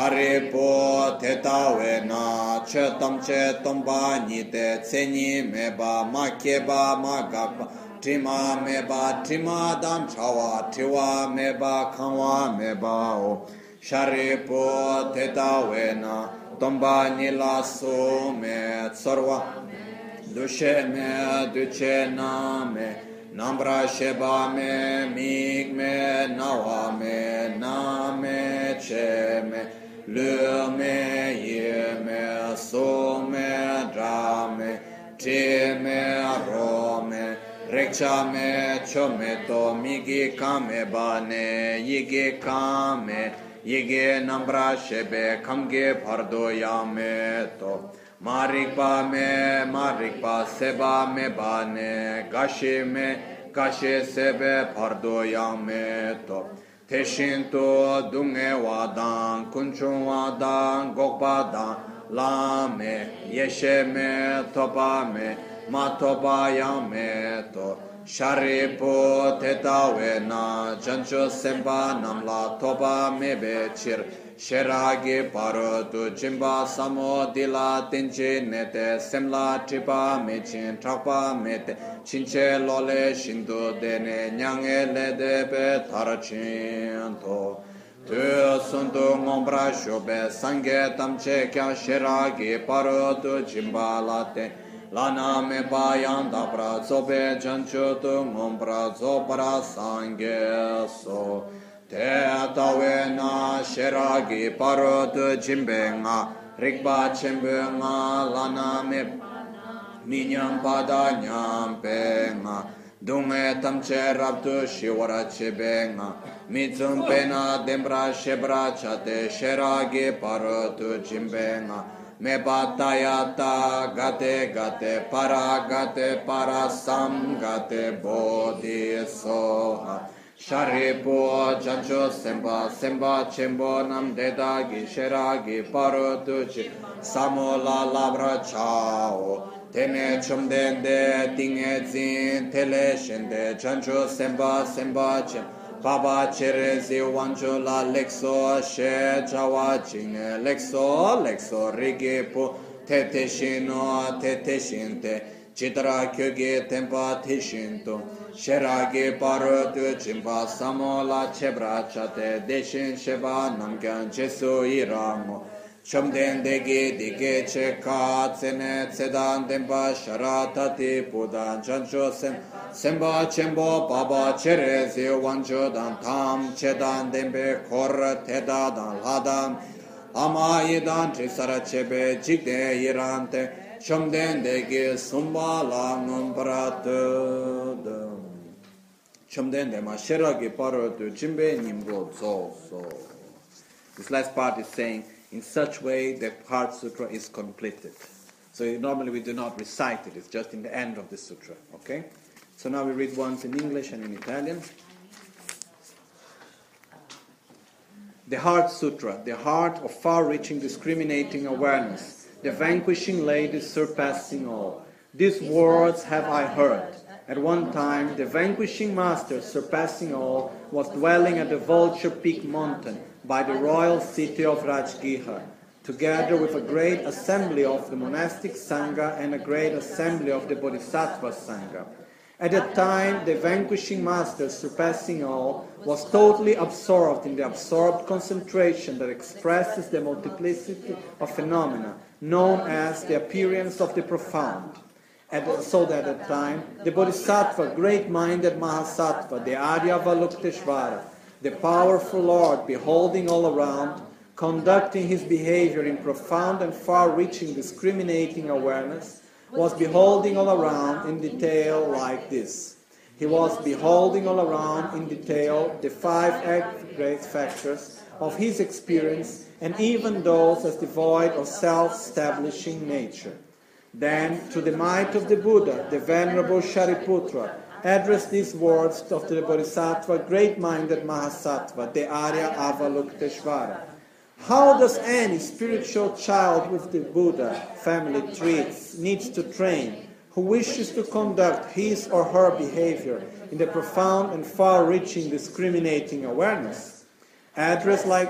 sharipo tetawe na chetam che tomba nite tseni meba makeba magapa trima meba trima dan chawa triwa meba kanwa meba o sharipo tetawe na tomba nila su me tsarva Dushe me, duce na me, nambra sheba me, mig me, nawa me, na me, che me, lu me, ye me, so me, dra me, tri me, ro me, rekcha me, cho me to, migi kame bane, yigi kame, yigi nambra shebe, kamge pardo ya me to. Marikpa me, marikpa seba me bane, gashi me, gashi sebe pardo yang me to. Teshinto dunge wadan, kunchun wadan, gokpa dan, la me, yeshe me, topa me, ma topa yang me to. Sharipo tetawe na, jancho semba namla topa me bechir. Sheragi parotu jimba samo dila tenche nete semla tripa mechin trapa mete chinche lole shindu dene nyange lede pe tarachinto tu sundu ngombra shobe sange tamche kya sheragi parotu jimba late lana me bayanda pra zobe janchutu ngombra zopara sange so Te atawe na sheragi parot jimbenga rikba chimbenga lana me minyam pada nyampenga dunge tamche rabtu shiwara chibenga mitsum pena dembra shebra chate sheragi parot jimbenga me batayata gate gate para gate para sam gate bodhi soha Sharipo jancho semba semba chembo nam dedagi sheragi parotuchi samola labra chao tene chumdende tinge zin tele shende jancho semba semba chem baba cherezi wancho la lexo she jawa chine lexo lexo rigipo tete shino tete shinte Chitra kyoge tempa tishinto Sherage parotu chimpa samola chebra chate Deshin sheba namkyan jesu iramo Chomden degi dige che ka tsene tsedan tempa sharatati pudan chancho sem Semba chembo baba cherezi wancho dan tam chedan dembe kor teda dan ladam Ama idan trisara chebe jikde irante Chomden degi sumba la nombrate Chomden de ma sheragi parotu jimbe nimgo zo so. This last part is saying, in such way the Heart Sutra is completed. So normally we do not recite it, it's just in the end of the sutra, okay? So now we read once in English and in Italian. The Heart Sutra, the heart of far-reaching discriminating awareness, the vanquishing lady surpassing all. These words have I heard. At one time, the vanquishing master surpassing all was dwelling at the Vulture Peak mountain by the royal city of Rajgihar, together with a great assembly of the monastic Sangha and a great assembly of the Bodhisattva Sangha. At that time, the vanquishing master surpassing all was totally absorbed in the absorbed concentration that expresses the multiplicity of phenomena, known as the appearance of the profound. And so that at that time, the Bodhisattva, great-minded Mahasattva, the Aryavalokiteshvara, the powerful Lord, beholding all around, conducting his behavior in profound and far-reaching discriminating awareness, was beholding all around in detail like this. He was beholding all around in detail the five aggregate factors of his experience, and even those as devoid of self-establishing nature. Then, to the might of the Buddha, the Venerable Shariputra addressed these words of the Bodhisattva, great-minded Mahasattva, the Arya Avalokiteshvara. How does any spiritual child with the Buddha family traits needs to train, who wishes to conduct his or her behavior in the profound and far-reaching discriminating awareness? Address like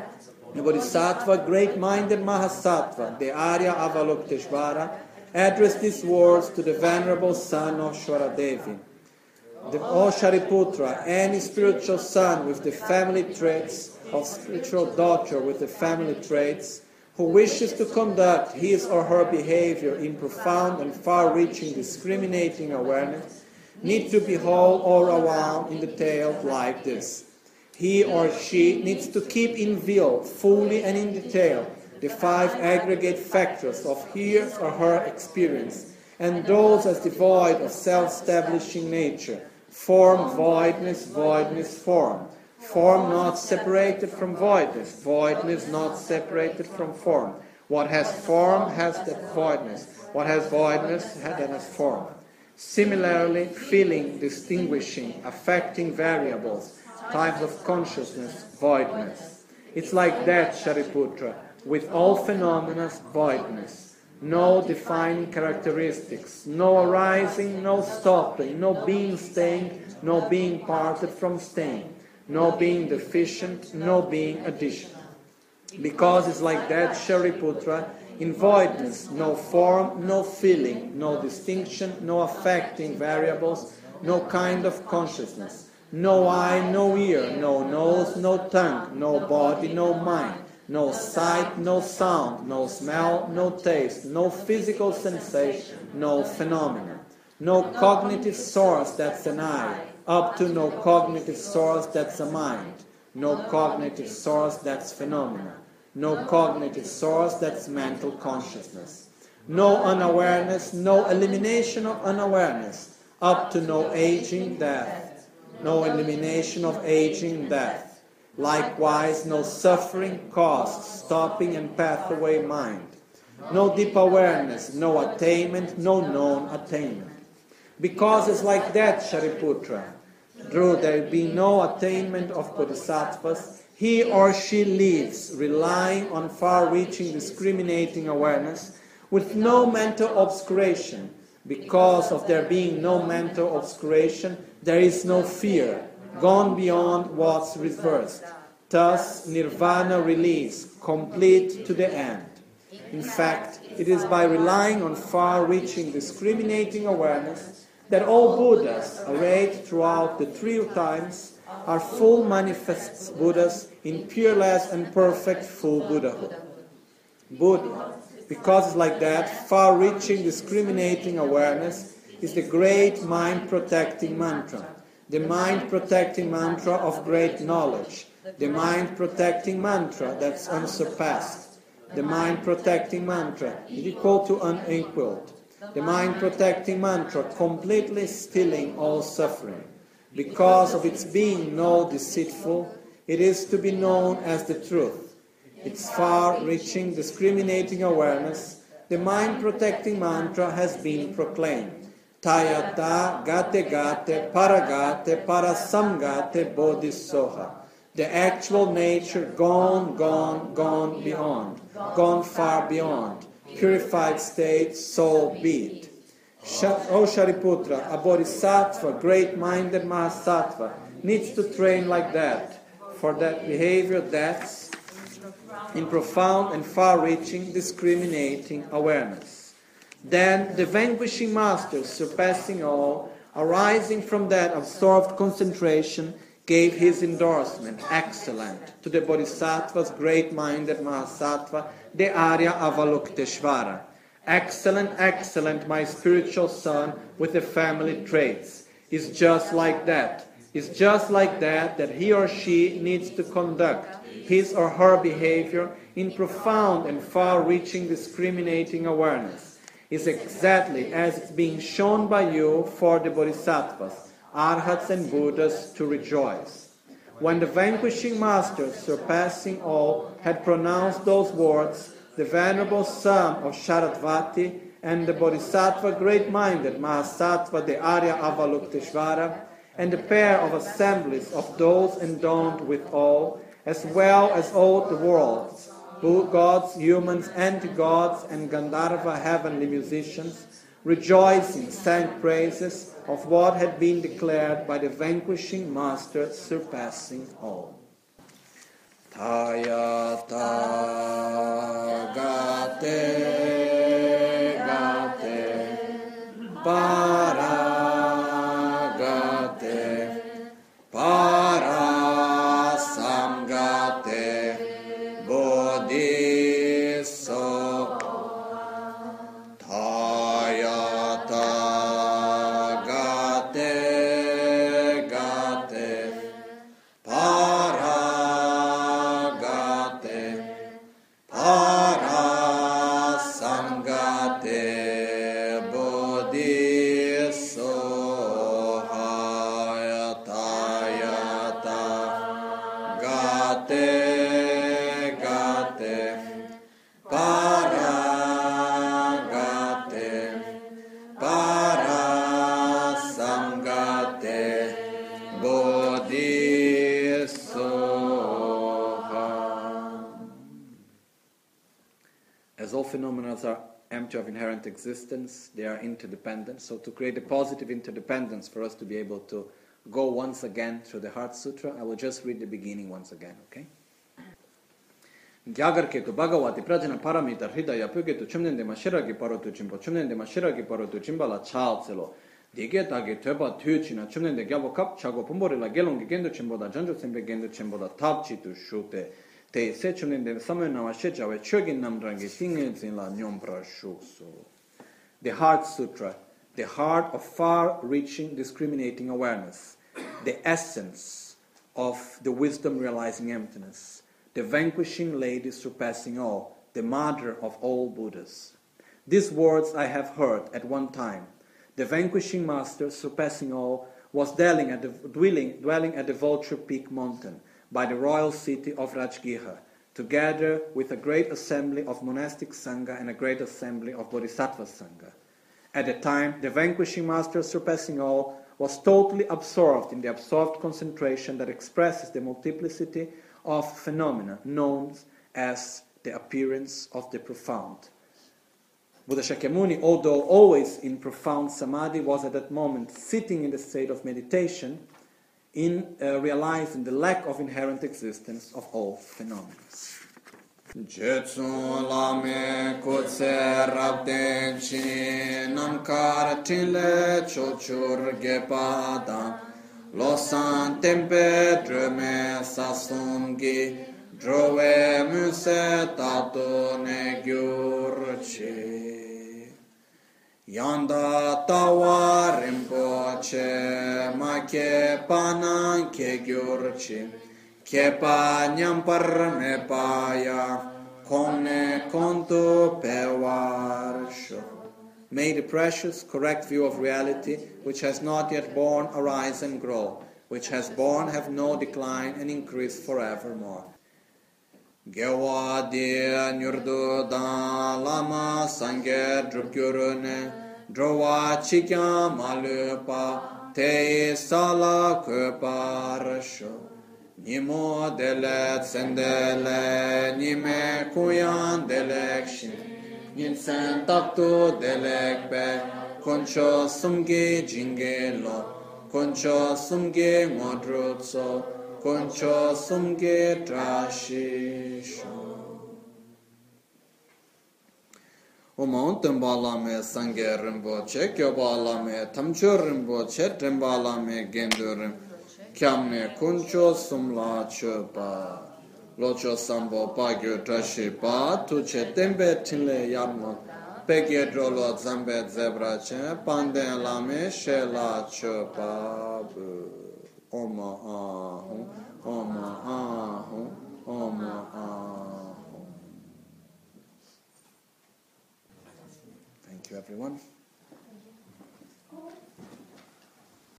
the Bodhisattva, great-minded Mahasattva, the Arya Avalokiteshvara, addressed these words to the venerable son of Shwaradevi. The, O Shariputra, any spiritual son with the family traits of spiritual daughter with the family traits, who wishes to conduct his or her behavior in profound and far-reaching discriminating awareness, need to behold all around in detail like this. He or she needs to keep in view, fully and in detail, the five aggregate factors of his or her experience, and those as devoid of self-establishing nature, form, voidness, voidness, form. Form not separated from voidness, voidness not separated from form. What has form has that voidness, what has voidness has that has form. Similarly, feeling, distinguishing, affecting variables, types of consciousness, voidness. It's like that, Shariputra, with all phenomena, voidness. No defining characteristics, no arising, no stopping, no being staying, no being parted from staying, no being deficient, no being addition. Because it's like that, Shariputra, in voidness, no form, no feeling, no distinction, no affecting variables, no kind of consciousness, no eye, no ear, no nose, no tongue, no body, no mind, no sight, no sound, no smell, no taste, no physical sensation, no phenomena, no cognitive source that's an eye, up to no cognitive source that's a mind, no cognitive source that's phenomena, no cognitive source that's mental consciousness, no unawareness, no elimination of unawareness, up to no aging, death, no elimination of aging, death. Likewise, no suffering, cause, stopping and pathway mind. No deep awareness, no attainment, no known attainment. Because it's like that, Shariputra. Though there be no attainment of bodhisattvas, he or she lives relying on far-reaching discriminating awareness with no mental obscuration. Because of there being no mental obscuration, there is no fear, gone beyond what's reversed. Thus, nirvana release, complete to the end. In fact, it is by relying on far-reaching discriminating awareness that all Buddhas, arrayed throughout the three times, are full manifest Buddhas in peerless and perfect full Buddhahood. Buddha, because it's like that, far-reaching discriminating awareness is the great mind-protecting mantra. The mind-protecting mantra of great knowledge, the mind-protecting mantra that's unsurpassed, the mind-protecting mantra equal to unequaled, the mind-protecting mantra completely stilling all suffering. Because of its being no deceitful, it is to be known as the truth. Its far-reaching discriminating awareness, the mind-protecting mantra has been proclaimed. Tayata gate gate paragate parasamgate bodhisoha. The actual nature gone, gone, gone beyond, gone far beyond, purified state, soul beat. O Shariputra, a bodhisattva, great-minded Mahasattva, needs to train like that, for that behavior that's in profound and far-reaching discriminating awareness. Then the vanquishing master, surpassing all, arising from that absorbed concentration, gave his endorsement, excellent, to the Bodhisattva's great-minded Mahasattva, the Arya Avalokiteshvara. Excellent, excellent, my spiritual son with the family traits. Is just like that. Is just like that that he or she needs to conduct his or her behavior in profound and far-reaching discriminating awareness. Is exactly as it's being shown by you for the Bodhisattvas, Arhats and Buddhas to rejoice. When the vanquishing master, surpassing all, had pronounced those words, the venerable son of Sharadvati and the bodhisattva great-minded Mahasattva, the Arya Avalokiteshvara, and the pair of assemblies of those endowed with all, as well as all the worlds, gods, humans, anti-gods, and Gandharva heavenly musicians, rejoicing sang praises of what had been declared by the vanquishing master surpassing all. Tayata gate gate para gate para samgate bodhiso Tayata gate gate para gate para samgate bodhiso hayatayata gate gate para gate para samgate bodhisoha. As all phenomena are empty of inherent existence, they are interdependent. So to create a positive interdependence for us to be able to go once again through the Heart Sutra, I will just read the beginning once again, okay? Gyagarketu Bhagavati Prajana Paramita Hridaya Pugetu Chumnende Mashiragi Parotu Chimpo Chumnende Mashiragi Parotu Chimbala Chalcelo Digetage Teba Tuchina Chumnende Gyabo Kap Chago Pumborila Gelongi Gendo Chimboda Janjo Sembe Gendo Chimboda Tabchitu Shute Te Se Chumnende Samena Mashejawe Chogin Namdrangi Singin Zinla Nyombra Shuksu. The Heart Sutra, the heart of far-reaching discriminating awareness, the essence of the wisdom realizing emptiness, the vanquishing lady surpassing all, the mother of all Buddhas. These words I have heard at one time. The vanquishing master surpassing all was dwelling at the, dwelling, dwelling at the Vulture Peak mountain by the royal city of Rajgiha, together with a great assembly of monastic Sangha and a great assembly of Bodhisattva Sangha. At the time, the vanquishing master surpassing all was totally absorbed in the absorbed concentration that expresses the multiplicity of phenomena known as the appearance of the profound. Buddha Shakyamuni, although always in profound samadhi, was at that moment sitting in the state of meditation in uh, realizing the lack of inherent existence of all phenomena. Jetsu lame kutse rabden chi namkar tile chochur gepada losan tempe dreme sasungi drove muse tato ne gyurchi yanda tawa rimpoche ma ke panan ke gyurchi Kepa nyampar me paya, kone konto pewarsho. May the precious, correct view of reality, which has not yet born, arise and grow, which has born, have no decline and increase forevermore. Gewa dia nyurdu da lama sange drupgyurune, drowa chikya malupa, te sala keparasho. Nimo dele tsendele, nime kuyan delekshin, ninsen taktu delekpe, koncho sumge jingelo, koncho sumge modrutso, koncho sumge trashisho. Oman tembala me sange rimboche, kyobala me tamcho rimboche, tembala me gendurim. Kyamne kuncho sumla chopa locho sambo pagyo trashipa tuche tembe tinle yarmo pegye drolo zambe zebrache panden lame shela chopa oma ahum oma ahum oma ahum. Thank you everyone.